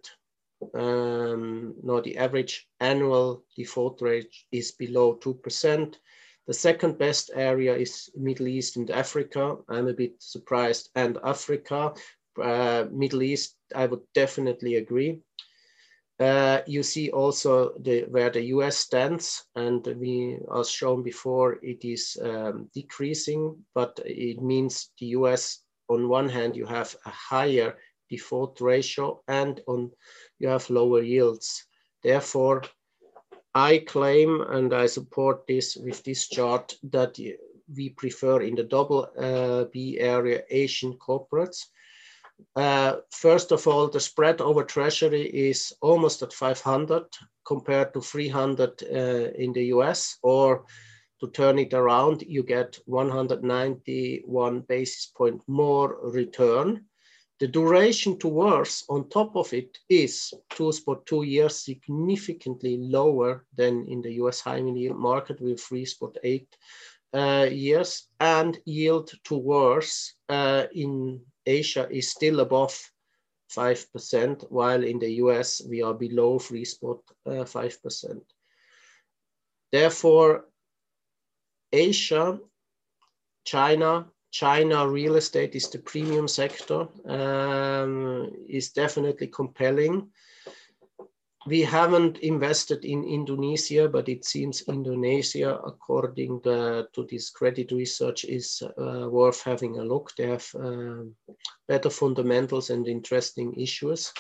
um, no, the average annual default rate is below two percent. The second best area is Middle East and Africa. I'm a bit surprised, and Africa. Uh, Middle East, I would definitely agree. Uh, you see also the, where the U S stands, and we, as shown before, it is um, decreasing, but it means the U S, on one hand, you have a higher default ratio, and on you have lower yields. Therefore, I claim, and I support this with this chart, that we prefer in the double uh, B area Asian corporates. Uh, first of all, the spread over treasury is almost at five hundred compared to three hundred uh, in the U S, or to turn it around, you get one hundred ninety-one basis point more return. The duration to worse on top of it is two spot two years, significantly lower than in the U S high yield market with three spot eight uh, years, and yield to worse uh, in Asia is still above five percent, while in the U S we are below three spot five percent. Therefore, Asia, China, China real estate is the premium sector, um, is definitely compelling. We haven't invested in Indonesia, but it seems Indonesia, according to, to this credit research, is uh, worth having a look. They have uh, better fundamentals and interesting issues.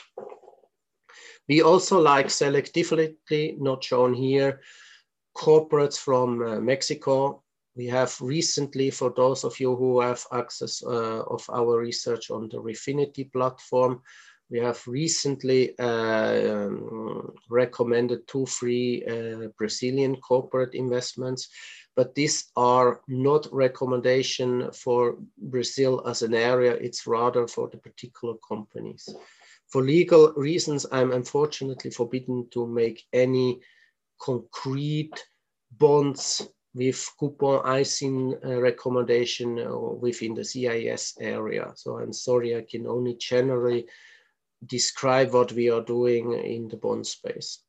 We also like selectively, not shown here, corporates from uh, Mexico. We have recently, for those of you who have access uh, of our research on the Refinity platform, we have recently uh, um, recommended two free uh, Brazilian corporate investments, but these are not recommendation for Brazil as an area, it's rather for the particular companies. For legal reasons, I'm unfortunately forbidden to make any concrete bonds with coupon I S I N uh, recommendation uh, within the C I S area. So I'm sorry, I can only generally describe what we are doing in the bond space.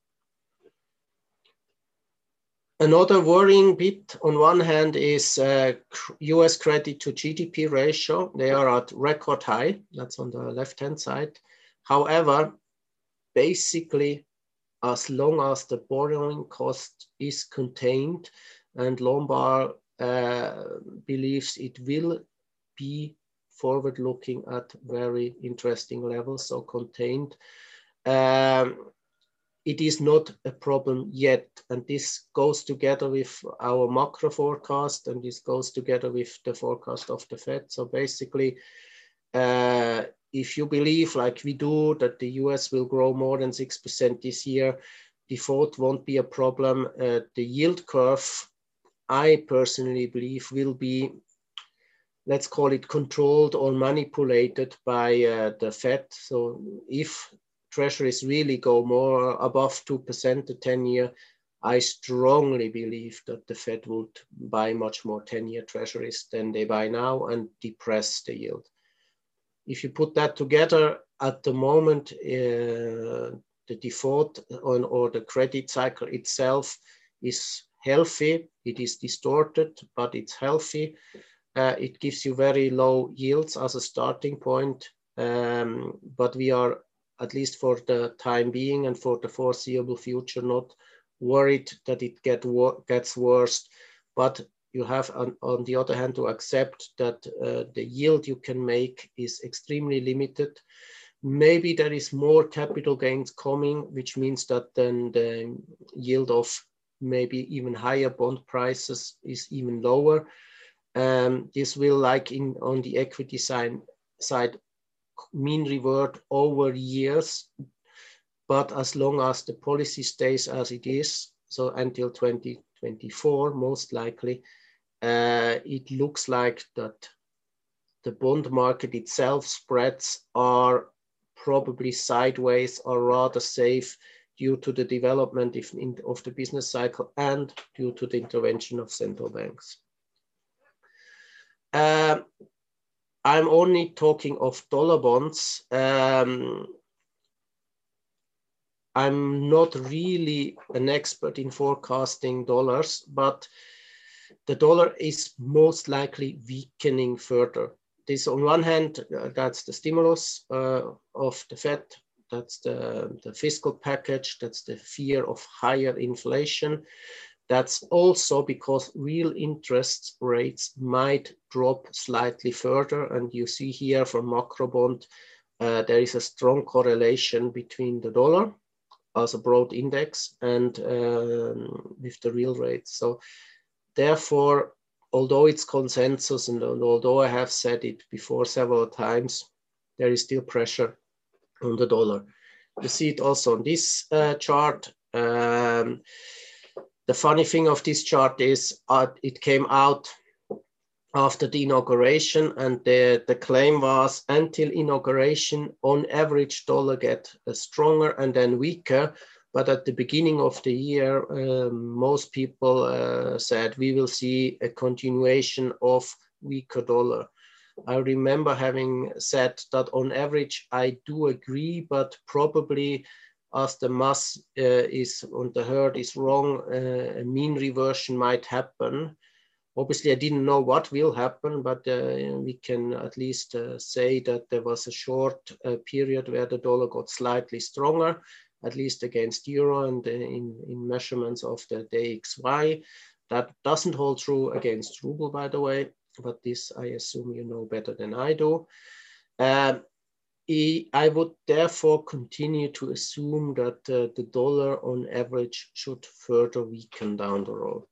Another worrying bit on one hand is uh, U S credit to G D P ratio. They are at record high, that's on the left-hand side. However, basically, as long as the borrowing cost is contained, and Lombard uh, believes it will be forward-looking at very interesting levels, so contained. Um, it is not a problem yet, and this goes together with our macro forecast, and this goes together with the forecast of the Fed. So basically, uh, if you believe, like we do, that the U S will grow more than six percent this year, default won't be a problem. Uh, the yield curve, I personally believe, will be, let's call it, controlled or manipulated by uh, the Fed. So if treasuries really go more above two percent the ten year, I strongly believe that the Fed would buy much more ten year treasuries than they buy now and depress the yield. If you put that together, at the moment, uh, the default on, or the credit cycle itself is healthy. It is distorted, but it's healthy. Uh, it gives you very low yields as a starting point, um, but we are, at least for the time being and for the foreseeable future, not worried that it get wor gets worse. But you have, on, on the other hand, to accept that uh, the yield you can make is extremely limited. Maybe there is more capital gains coming, which means that then the yield of maybe even higher bond prices is even lower. Um, this will, like in on the equity side, side, mean revert over years. But as long as the policy stays as it is, so until twenty twenty-four, most likely, uh, it looks like that the bond market itself spreads are probably sideways or rather safe due to the development of the business cycle and due to the intervention of central banks. Um, I'm only talking of dollar bonds. Um, I'm not really an expert in forecasting dollars, but the dollar is most likely weakening further. This, on one hand, uh, that's the stimulus uh, of the Fed, that's the, the fiscal package, that's the fear of higher inflation. That's also because real interest rates might drop slightly further. And you see here from macro bond, uh, there is a strong correlation between the dollar as a broad index and um, with the real rates. So therefore, although it's consensus and although I have said it before several times, there is still pressure on the dollar. You see it also on this uh, chart. Um, the funny thing of this chart is uh, it came out after the inauguration, and the, the claim was until inauguration, on average, dollar get uh, stronger and then weaker. But at the beginning of the year, um, most people uh, said we will see a continuation of weaker dollar. I remember having said that on average, I do agree, but probably as the mass uh, is on the herd is wrong, uh, a mean reversion might happen. Obviously, I didn't know what will happen, but uh, we can at least uh, say that there was a short uh, period where the dollar got slightly stronger, at least against euro and uh, in, in measurements of the D X Y. That doesn't hold true against ruble, by the way, but this I assume you know better than I do. Uh, I would therefore continue to assume that uh, the dollar on average should further weaken down the road.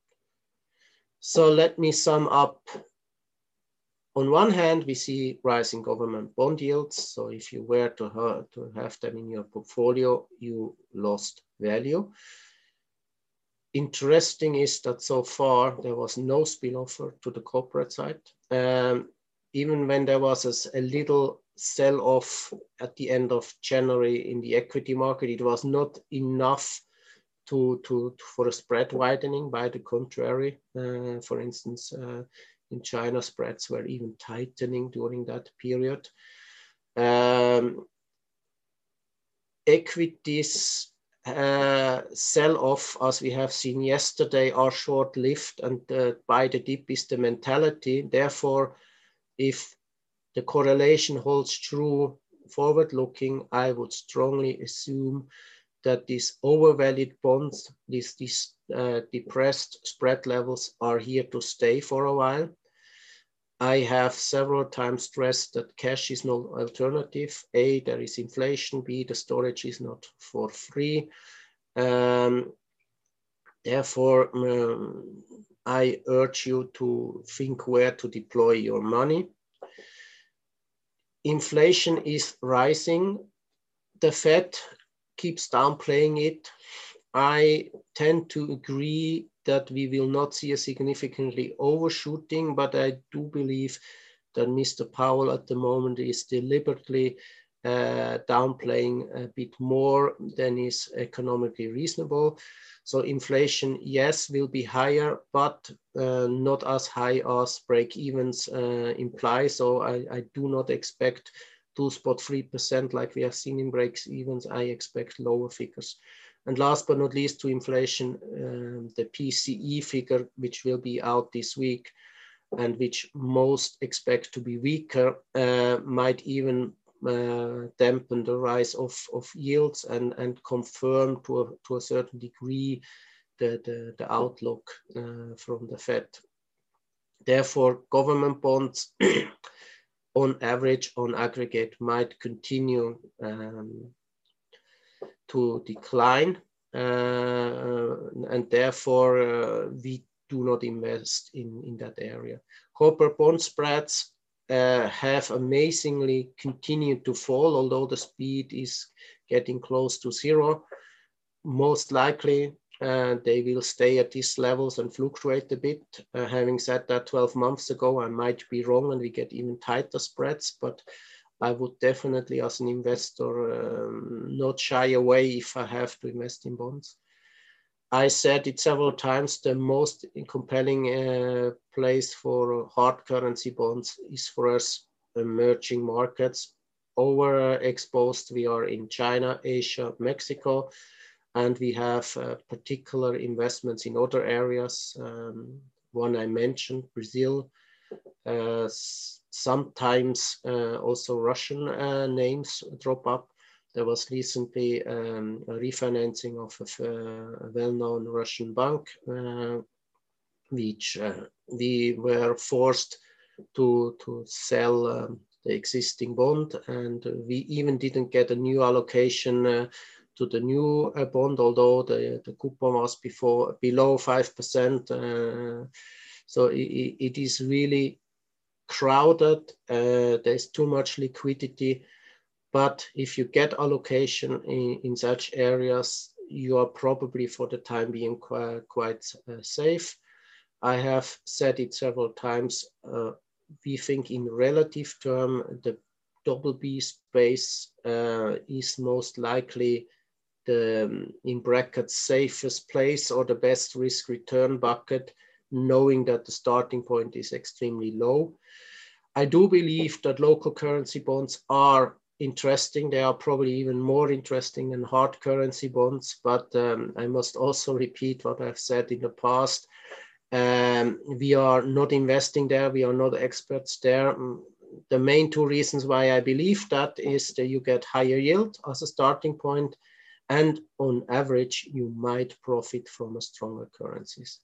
So let me sum up. On one hand, we see rising government bond yields. So if you were to have, to have them in your portfolio, you lost value. Interesting is that so far there was no spillover to the corporate side. Um, even when there was a, a little sell-off at the end of January in the equity market, it was not enough to, to, to for a spread widening. By the contrary, uh, for instance, uh, in China, spreads were even tightening during that period. Um, equities uh, sell off, as we have seen yesterday, are short-lived, and uh, buy the dip is the mentality. Therefore, if the correlation holds true forward-looking, I would strongly assume that these overvalued bonds, these, these uh, depressed spread levels are here to stay for a while. I have several times stressed that cash is no alternative. A, there is inflation. B, the storage is not for free. Um, therefore, um, I urge you to think where to deploy your money. Inflation is rising. The Fed keeps downplaying it. I tend to agree that we will not see a significantly overshooting, but I do believe that Mister Powell at the moment is deliberately uh, downplaying a bit more than is economically reasonable. So inflation, yes, will be higher, but uh, not as high as break-evens uh, imply. So I, I do not expect two point three percent like we have seen in break-evens. I expect lower figures. And last but not least, to inflation, um, the P C E figure, which will be out this week and which most expect to be weaker, uh, might even uh, dampen the rise of, of yields and, and confirm to a, to a certain degree the, the, the outlook uh, from the Fed. Therefore, government bonds on average, on aggregate, might continue um, to decline, uh, and therefore uh, we do not invest in, in that area. Corporate bond spreads uh, have amazingly continued to fall, although the speed is getting close to zero. Most likely uh, they will stay at these levels and fluctuate a bit. Uh, having said that, twelve months ago, I might be wrong and we get even tighter spreads, but I would definitely, as an investor, um, not shy away if I have to invest in bonds. I said it several times, the most compelling uh, place for hard currency bonds is for us emerging markets. Overexposed, we are in China, Asia, Mexico, and we have uh, particular investments in other areas. Um, one I mentioned, Brazil, uh, sometimes uh, also Russian uh, names drop up. There was recently um, a refinancing of a, a well-known Russian bank, uh, which uh, we were forced to, to sell um, the existing bond, and we even didn't get a new allocation uh, to the new uh, bond, although the, the coupon was before below five percent. Uh, so it, it is really crowded, uh, there's too much liquidity, but if you get allocation in, in such areas, you are probably for the time being quite, quite uh, safe. I have said it several times, uh, we think in relative term, the double B space uh, is most likely the, um, in brackets, safest place or the best risk return bucket, knowing that the starting point is extremely low. I do believe that local currency bonds are interesting. They are probably even more interesting than hard currency bonds, but um, I must also repeat what I've said in the past. Um, we are not investing there. We are not experts there. The main two reasons why I believe that is that you get higher yield as a starting point, and on average, you might profit from a stronger currencies.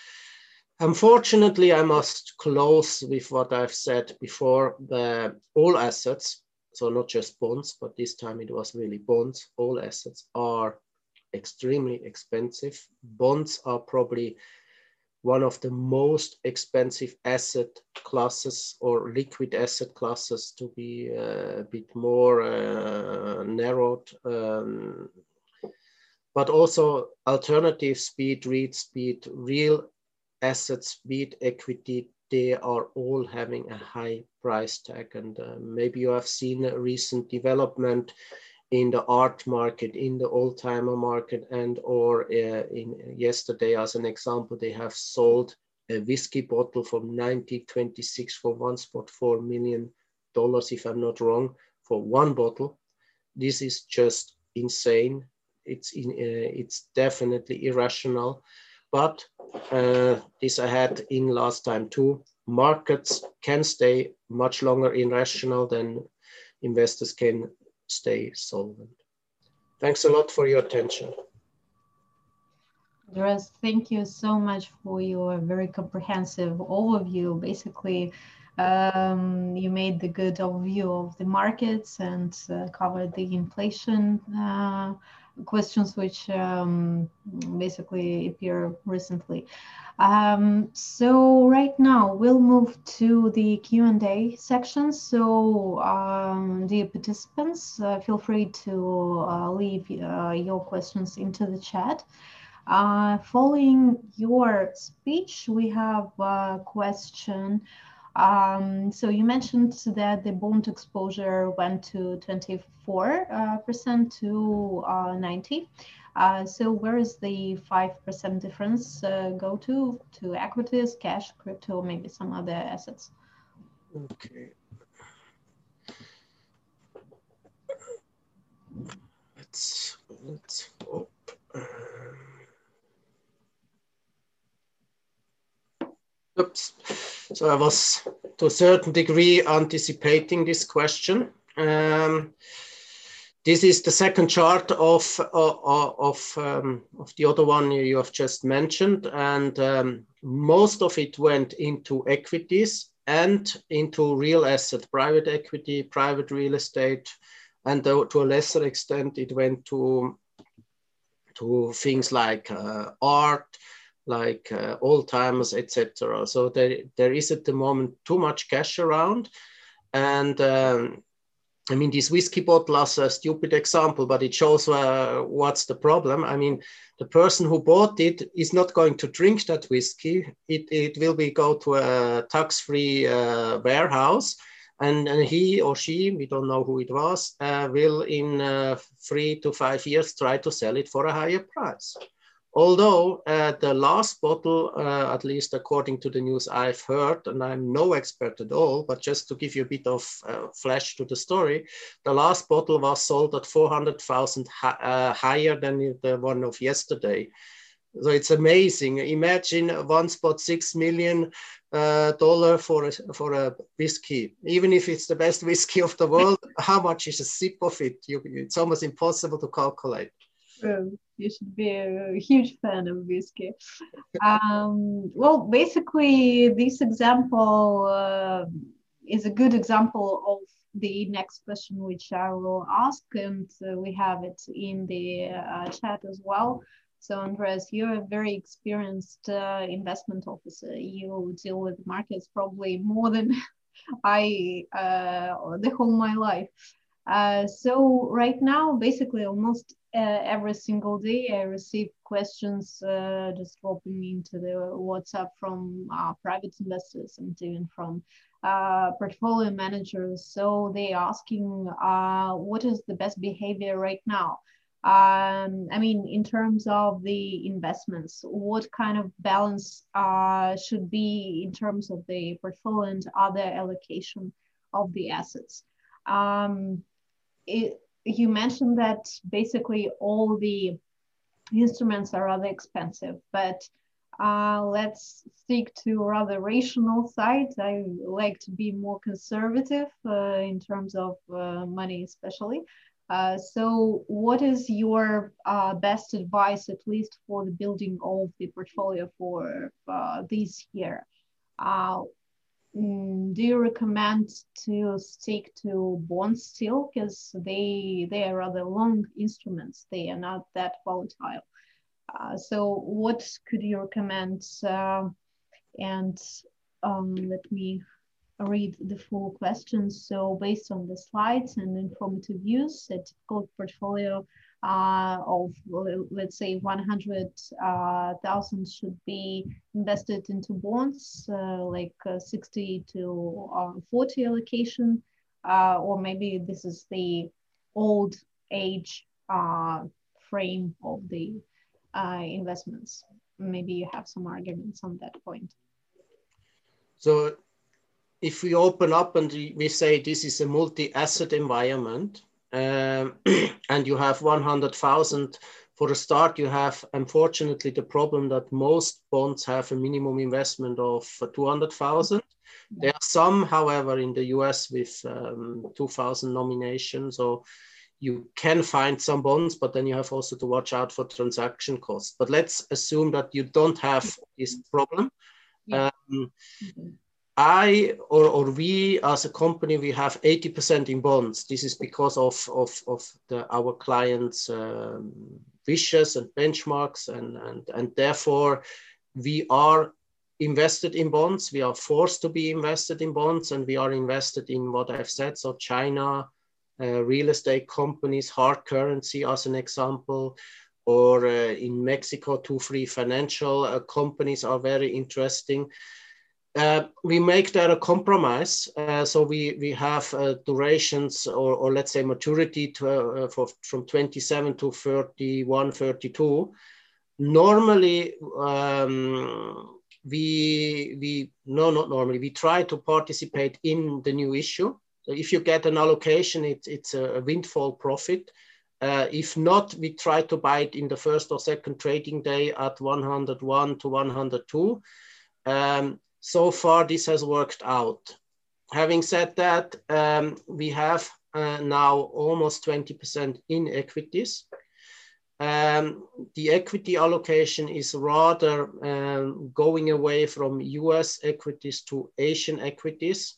Unfortunately, I must close with what I've said before. The, all assets, so not just bonds, but this time it was really bonds, all assets are extremely expensive. Bonds are probably one of the most expensive asset classes or liquid asset classes, to be uh, a bit more uh, narrowed. Um, but also alternatives, be it REITs, be it real assets, be it equity, they are all having a high price tag. And uh, maybe you have seen a recent development in the art market, in the old-timer market, and or uh, in yesterday, as an example, they have sold a whiskey bottle from nineteen twenty-six for one point four million dollars, if I'm not wrong, for one bottle. This is just insane. It's in, uh, it's definitely irrational. But uh, this I had in last time too. Markets can stay much longer irrational than investors can stay solvent. Thanks a lot for your attention. Andreas, thank you so much for your very comprehensive overview. Basically, um, you made the good overview of the markets and uh, covered the inflation uh, questions, which um, basically appear recently. Um, so right now we'll move to the Q and A section. So um, dear participants, uh, feel free to uh, leave uh, your questions into the chat. Uh, following your speech, we have a question. Um, so you mentioned that the bond exposure went to twenty-four percent uh, to uh, ninety. Uh, so where is the five percent difference uh, go to? To equities, cash, crypto, maybe some other assets? Okay. Let's, let's hope. Oops. So I was to a certain degree anticipating this question. Um, this is the second chart of uh, of um, of the other one you have just mentioned, and um, most of it went into equities and into real asset, private equity, private real estate, and to a lesser extent it went to to things like uh, art, like uh, old timers, et cetera. So there, there is at the moment too much cash around. And um, I mean, this whiskey bottle is a stupid example, but it shows uh, what's the problem. I mean, the person who bought it is not going to drink that whiskey. It, it will be go to a tax-free uh, warehouse. And, and he or she, we don't know who it was, uh, will in uh, three to five years try to sell it for a higher price. Although uh, the last bottle, uh, at least according to the news I've heard, and I'm no expert at all, but just to give you a bit of uh, flash to the story, the last bottle was sold at four hundred thousand hi uh, higher than the one of yesterday. So it's amazing. Imagine one point six million uh, dollar for a, for a whiskey. Even if it's the best whiskey of the world, how much is a sip of it? You, it's almost impossible to calculate. Um, you should be a huge fan of whiskey. Um, well, basically, this example uh, is a good example of the next question, which I will ask, and uh, we have it in the uh, chat as well. So, Andreas, you're a very experienced uh, investment officer. You deal with markets probably more than I uh, the whole my life. Uh, so right now, basically almost uh, every single day I receive questions uh, just dropping into the WhatsApp from uh, private investors and even from uh, portfolio managers. So they asking uh, what is the best behavior right now? Um, I mean, in terms of the investments, what kind of balance uh, should be in terms of the portfolio and other allocation of the assets? Um, It, you mentioned that basically all the instruments are rather expensive, but uh, let's stick to rather rational side. I like to be more conservative uh, in terms of uh, money, especially. Uh, so what is your uh, best advice, at least for the building of the portfolio for uh, this year? Uh, Mm, do you recommend to stick to bonds still, because they they are rather long instruments, they are not that volatile? Uh, so what could you recommend? Uh, and um, let me read the full questions. So based on the slides and informative views, a typical portfolio uh, of, let's say, one hundred thousand uh, should be invested into bonds, uh, like uh, sixty to forty allocation, uh, or maybe this is the old age uh, frame of the uh, investments? Maybe you have some arguments on that point. So if we open up and we say this is a multi-asset environment, um, and you have one hundred thousand for a start, you have unfortunately the problem that most bonds have a minimum investment of two hundred thousand. There are some, however, in the U S with um, two thousand nominations, so you can find some bonds, but then you have also to watch out for transaction costs. But let's assume that you don't have this problem. Yeah. Um, mm-hmm. I or, or we as a company, we have eighty percent in bonds. This is because of, of, of the, our clients' um, wishes and benchmarks, and, and, and therefore we are invested in bonds. We are forced to be invested in bonds, and we are invested in what I've said. So China, uh, real estate companies, hard currency as an example, or uh, in Mexico, two free financial uh, companies are very interesting. Uh, we make that a compromise. Uh, so we, we have uh, durations or, or let's say maturity to, uh, for, from twenty-seven to thirty-one, thirty-two. Normally, um, we, we, no, not normally, we try to participate in the new issue. So if you get an allocation, it, it's a windfall profit. Uh, if not, we try to buy it in the first or second trading day at one hundred one to one hundred two. Um, So far, this has worked out. Having said that, um, we have uh, now almost twenty percent in equities. Um, the equity allocation is rather um, going away from U S equities to Asian equities.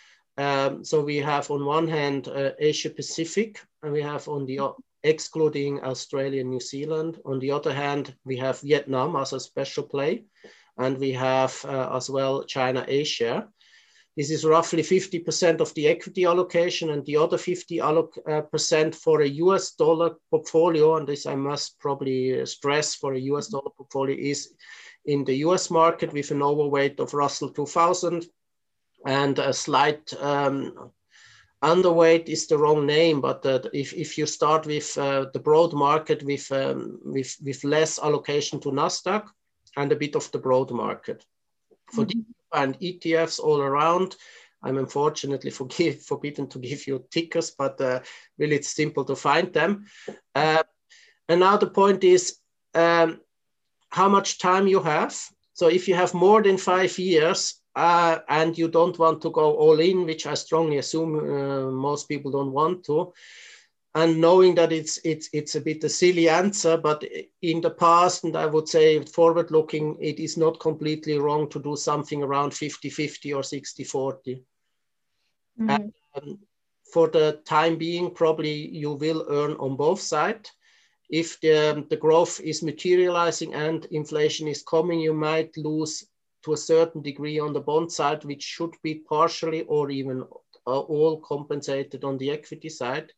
Um, so we have on one hand uh, Asia Pacific, and we have on the excluding Australia and New Zealand. On the other hand, we have Vietnam as a special play. And we have uh, as well China, Asia. This is roughly fifty percent of the equity allocation, and the other fifty percent for a U S dollar portfolio. And this I must probably stress, for a U S dollar portfolio is in the U S market with an overweight of Russell two thousand, and a slight um, underweight is the wrong name, but uh, if, if you start with uh, the broad market with, um, with, with less allocation to NASDAQ, and a bit of the broad market. For mm-hmm. and E T Fs all around, I'm unfortunately forgive, forbidden to give you tickers, but uh, really it's simple to find them. Uh, and now the point is um, how much time you have. So if you have more than five years uh, and you don't want to go all in, which I strongly assume uh, most people don't want to, and knowing that it's it's it's a bit a silly answer, but in the past, and I would say forward looking, it is not completely wrong to do something around fifty fifty or sixty forty. Mm-hmm. And um, for the time being, probably you will earn on both sides. If the, the growth is materializing and inflation is coming, you might lose to a certain degree on the bond side, which should be partially or even uh, all compensated on the equity side.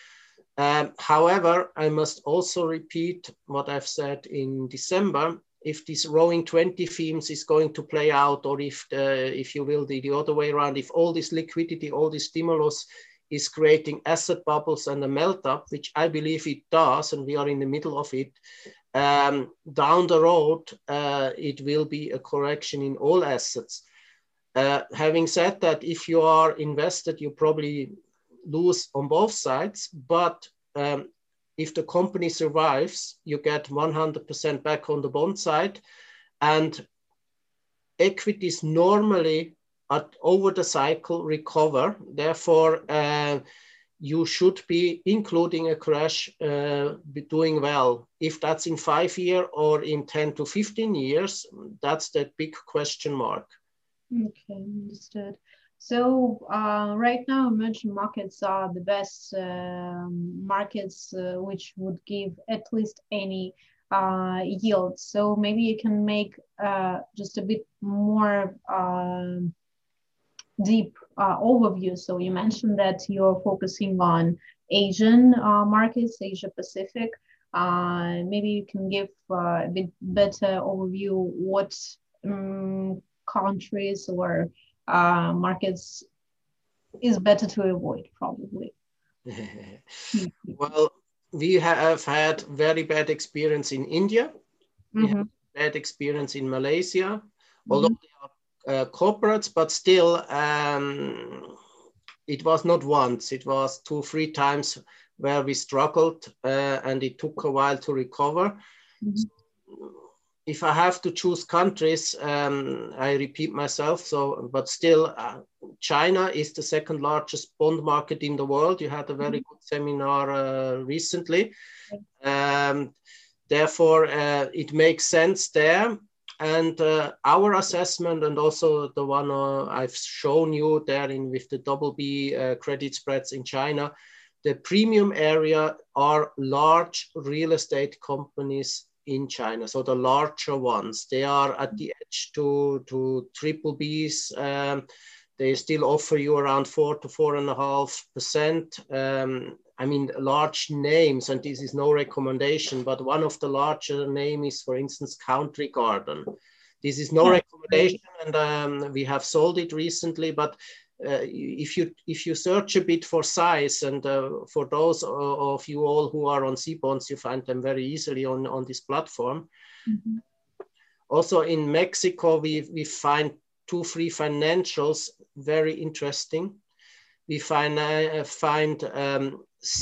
Um, however, I must also repeat what I've said in December. If this Rowing twenty themes is going to play out, or if, the, if you will, the, the other way around, if all this liquidity, all this stimulus is creating asset bubbles and a melt up, which I believe it does, and we are in the middle of it, um, down the road, uh, it will be a correction in all assets. Uh, having said that, if you are invested, you probably lose on both sides, but um, if the company survives, you get one hundred percent back on the bond side, and equities normally at over the cycle recover. Therefore, uh, you should be, including a crash, uh, be doing well. If that's in five years or in ten to fifteen years, that's the big question mark. Okay, understood. So uh, right now, emerging markets are the best uh, markets uh, which would give at least any uh, yield. So maybe you can make uh, just a bit more uh, deep uh, overview. So you mentioned that you're focusing on Asian uh, markets, Asia Pacific. Uh, maybe you can give uh, a bit better overview what um, countries or uh, markets is better to avoid, probably. Well, we have had very bad experience in India. We Mm-hmm. have bad experience in Malaysia, although mm-hmm. they are uh, corporates, but still um, it was not once, it was two, three times where we struggled uh, and it took a while to recover. Mm-hmm. So if I have to choose countries, um, I repeat myself, so, but still uh, China is the second largest bond market in the world. You had a very mm-hmm. good seminar uh, recently. Um, therefore, uh, it makes sense there. And uh, our assessment, and also the one uh, I've shown you there in with the double B uh, credit spreads in China, the premium area are large real estate companies in China. So the larger ones, they are at the edge to, to triple Bs. Um, they still offer you around four to four and a half percent. Um, I mean, large names, and this is no recommendation, but one of the larger names is, for instance, Country Garden. This is no recommendation, and um, we have sold it recently, but uh, if you if you search a bit for size, and uh, for those of you all who are on C bonds, you find them very easily on, on this platform. Mm-hmm. Also in Mexico, we, we find two, three financials very interesting. We find, uh, find um,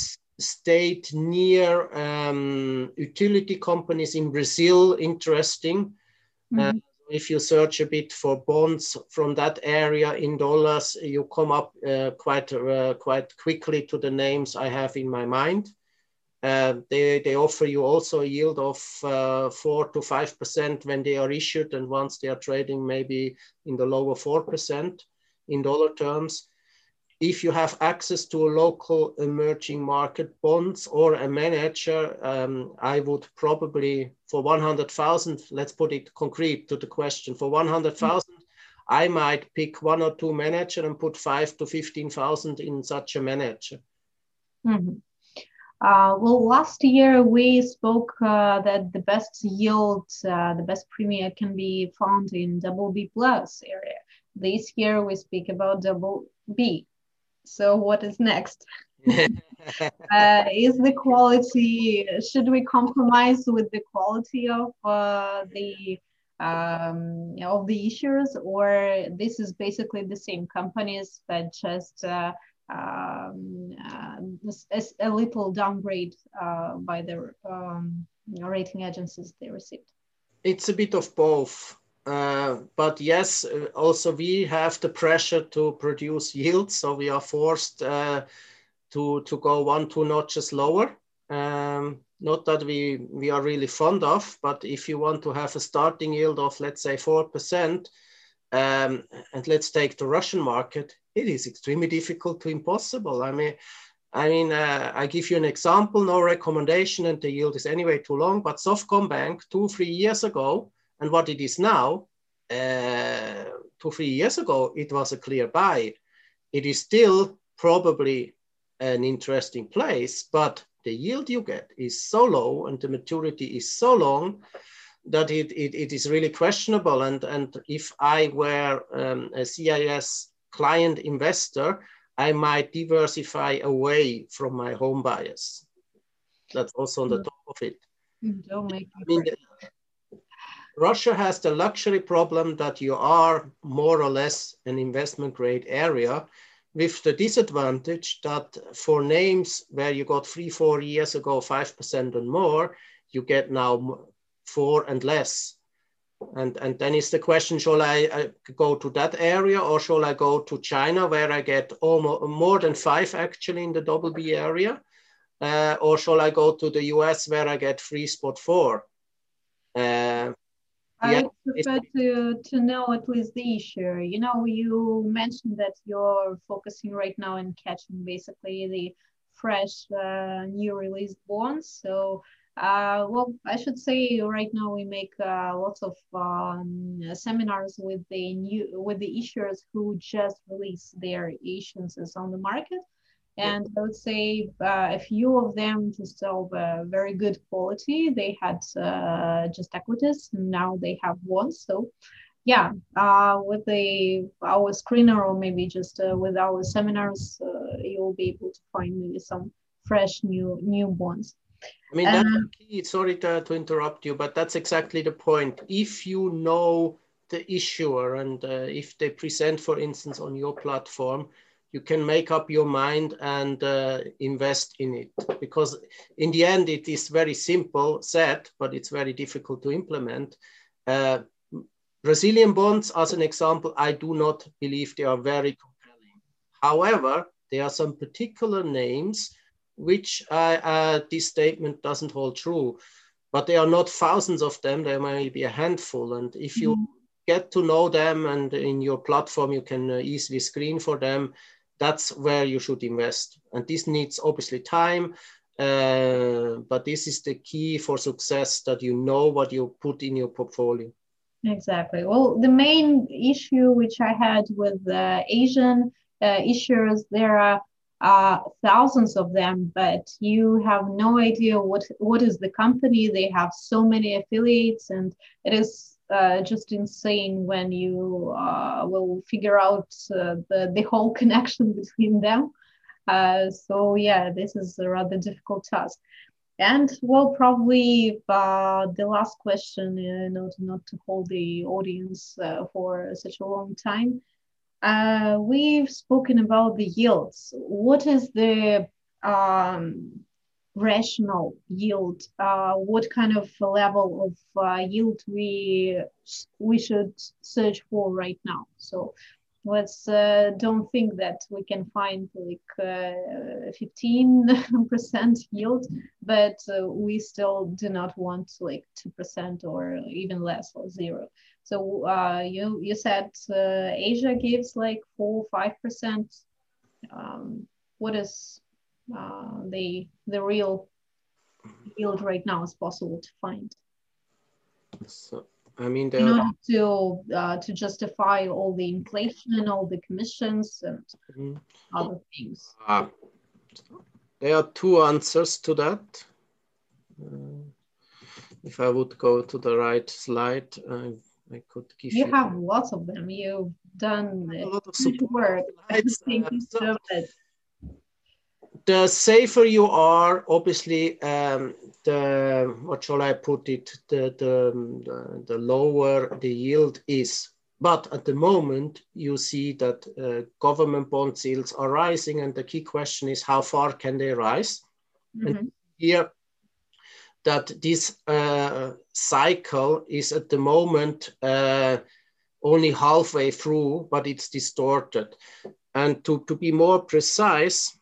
state near um, utility companies in Brazil interesting. Mm-hmm. uh, if you search a bit for bonds from that area in dollars, you come up uh, quite, uh, quite quickly to the names I have in my mind. Uh, they, they offer you also a yield of uh, four to five percent when they are issued, and once they are trading maybe in the lower four percent in dollar terms. If you have access to a local emerging market bonds or a manager, um, I would probably, for one hundred thousand, let's put it concrete to the question, for one hundred thousand, mm-hmm. I might pick one or two manager and put five to fifteen thousand in such a manager. Mm-hmm. Uh, well, last year we spoke uh, that the best yield, uh, the best premium can be found in double B plus area. This year we speak about double B. So what is next? uh, is the quality, should we compromise with the quality of uh, the um, of the issuers, or this is basically the same companies but just uh, um, uh, a, a little downgrade uh, by the um, rating agencies they received? It's a bit of both. Uh, but yes, also we have the pressure to produce yield, so we are forced uh, to to go one, two notches lower. Um, not that we we are really fond of, but if you want to have a starting yield of, let's say, four percent, um, and let's take the Russian market, it is extremely difficult to impossible. I mean, I mean, uh, I give you an example, no recommendation, and the yield is anyway too long. But Softcombank two, three years ago. And what it is now, uh, two, three years ago, it was a clear buy. It is still probably an interesting place, but the yield you get is so low and the maturity is so long that it, it, it is really questionable. And, and if I were um, a C I S client investor, I might diversify away from my home bias. That's also on the top of it. Don't make me I mean, Russia has the luxury problem that you are more or less an investment grade area, with the disadvantage that for names where you got three, four years ago, five percent and more, you get now four and less. And, and then is the question, shall I, I go to that area, or shall I go to China where I get almost more than five actually in the double B area? Uh, or shall I go to the U S where I get three spot four? Uh, I would prefer to, to know at least the issue. You know, you mentioned that you're focusing right now on catching basically the fresh uh, new released bonds. So, uh, well, I should say right now we make uh, lots of um, seminars with the new with the issuers who just released their issuances on the market. And I would say uh, a few of them just of uh, very good quality. They had uh, just equities, and now they have bonds. So, yeah, uh, with the our screener, or maybe just uh, with our seminars, uh, you'll be able to find maybe some fresh new new bonds. I mean, that's um, key. Sorry to, to interrupt you, but that's exactly the point. If you know the issuer and uh, if they present, for instance, on your platform, you can make up your mind and uh, invest in it. Because in the end, it is very simple said, but it's very difficult to implement. Uh, Brazilian bonds, as an example, I do not believe they are very compelling. However, there are some particular names which uh, uh, this statement doesn't hold true, but there are not thousands of them. There may be a handful. And if you mm-hmm. get to know them and in your platform, you can uh, easily screen for them, that's where you should invest. And this needs obviously time, uh, but this is the key for success, that you know what you put in your portfolio. Exactly. Well, the main issue which I had with uh, Asian uh, issuers, there are uh, thousands of them, but you have no idea what what is the company. They have so many affiliates, and it is uh, just insane when you uh, will figure out uh, the the whole connection between them. Uh, so yeah, this is a rather difficult task. And well, probably uh, the last question, uh, not not to hold the audience uh, for such a long time. Uh, we've spoken about the yields. What is the um, rational yield? Uh, what kind of level of uh, yield we we should search for right now? So let's uh, don't think that we can find like uh, fifteen percent yield, but uh, we still do not want like two percent or even less, or zero. So uh, you you said uh, Asia gives like four five percent. Um, what is uh, the the real yield right now is possible to find? So I mean, in order to uh, to justify all the inflation and all the commissions and mm-hmm. other things. Uh, there are two answers to that. Uh, if I would go to the right slide, uh, I could give you. You have lots of them. You've done a lot of work. Slides, Thank uh, you so much. The safer you are, obviously, um, the, what shall I put it, the, the, the, the lower the yield is. But at the moment, you see that uh, government bond yields are rising, and the key question is, how far can they rise? Mm-hmm. And here, that this uh, cycle is at the moment uh, only halfway through, but it's distorted. And to, to be more precise,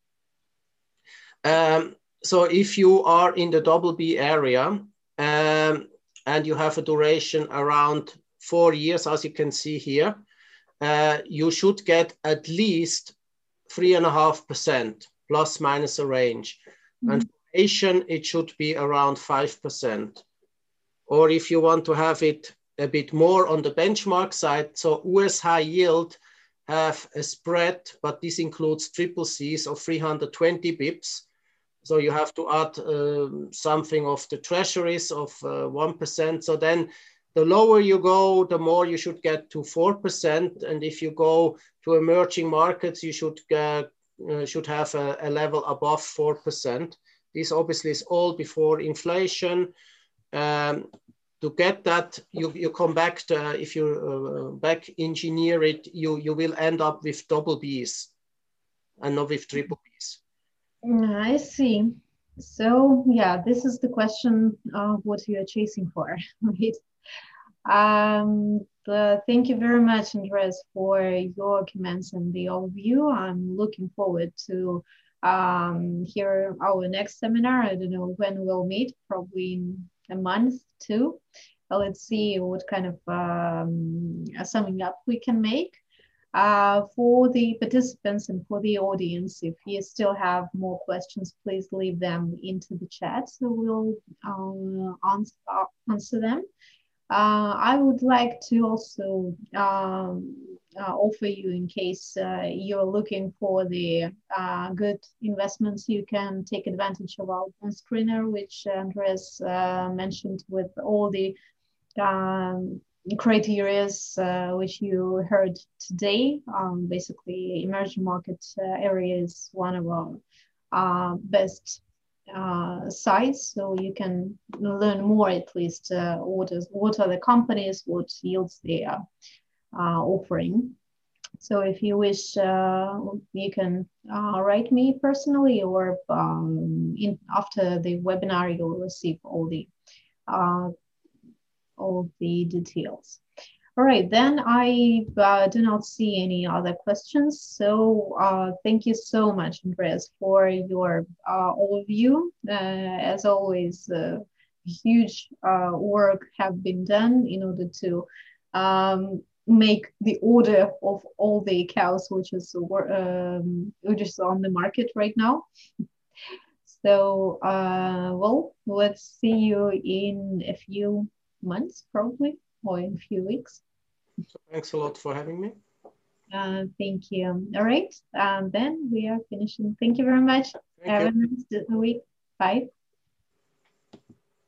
Um, so if you are in the double B area um, and you have a duration around four years, as you can see here, uh, you should get at least three and a half percent plus minus a range. Mm-hmm. And for Asian, it should be around five percent. Or if you want to have it a bit more on the benchmark side, so U S high yield have a spread, but this includes triple C's of three hundred twenty bips. So you have to add um, something of the treasuries of uh, one percent. So then the lower you go, the more you should get to four percent. And if you go to emerging markets, you should, uh, uh, should have a, a level above four percent. This obviously is all before inflation. Um, to get that, you, you come back to, if you uh, back engineer it, you, you will end up with double B's and not with triple B's. I see. So yeah, this is the question of what you are chasing for, right? Um, the, thank you very much, Andreas, for your comments and the overview. I'm looking forward to um, hear our next seminar. I don't know when we'll meet, probably in a month too. Uh, let's see what kind of um, summing up we can make. Uh, for the participants and for the audience, if you still have more questions, please leave them into the chat, so we'll uh, answer, answer them. Uh, I would like to also um, uh, offer you, in case uh, you're looking for the uh, good investments, you can take advantage of our bond screener, which Andreas uh, mentioned, with all the um, criteria uh, which you heard today. Um, basically, emerging market uh, area is one of our uh, best uh, sites, so you can learn more at least uh, what is what are the companies, what yields they are uh, offering. So if you wish, uh, you can uh, write me personally, or um, in, after the webinar, you'll receive all the uh, all the details. All right, then I uh, do not see any other questions. So uh, thank you so much, Andreas, for your uh, overview. Uh, as always, uh, huge uh, work have been done in order to um, make the order of all the cows which is um, which is on the market right now. So, uh, well, let's see you in a few months, probably, or in a few weeks. So thanks a lot for having me. Uh, thank you. All right, and then we are finishing. Thank you very much. Thank Have you. a nice week. Bye.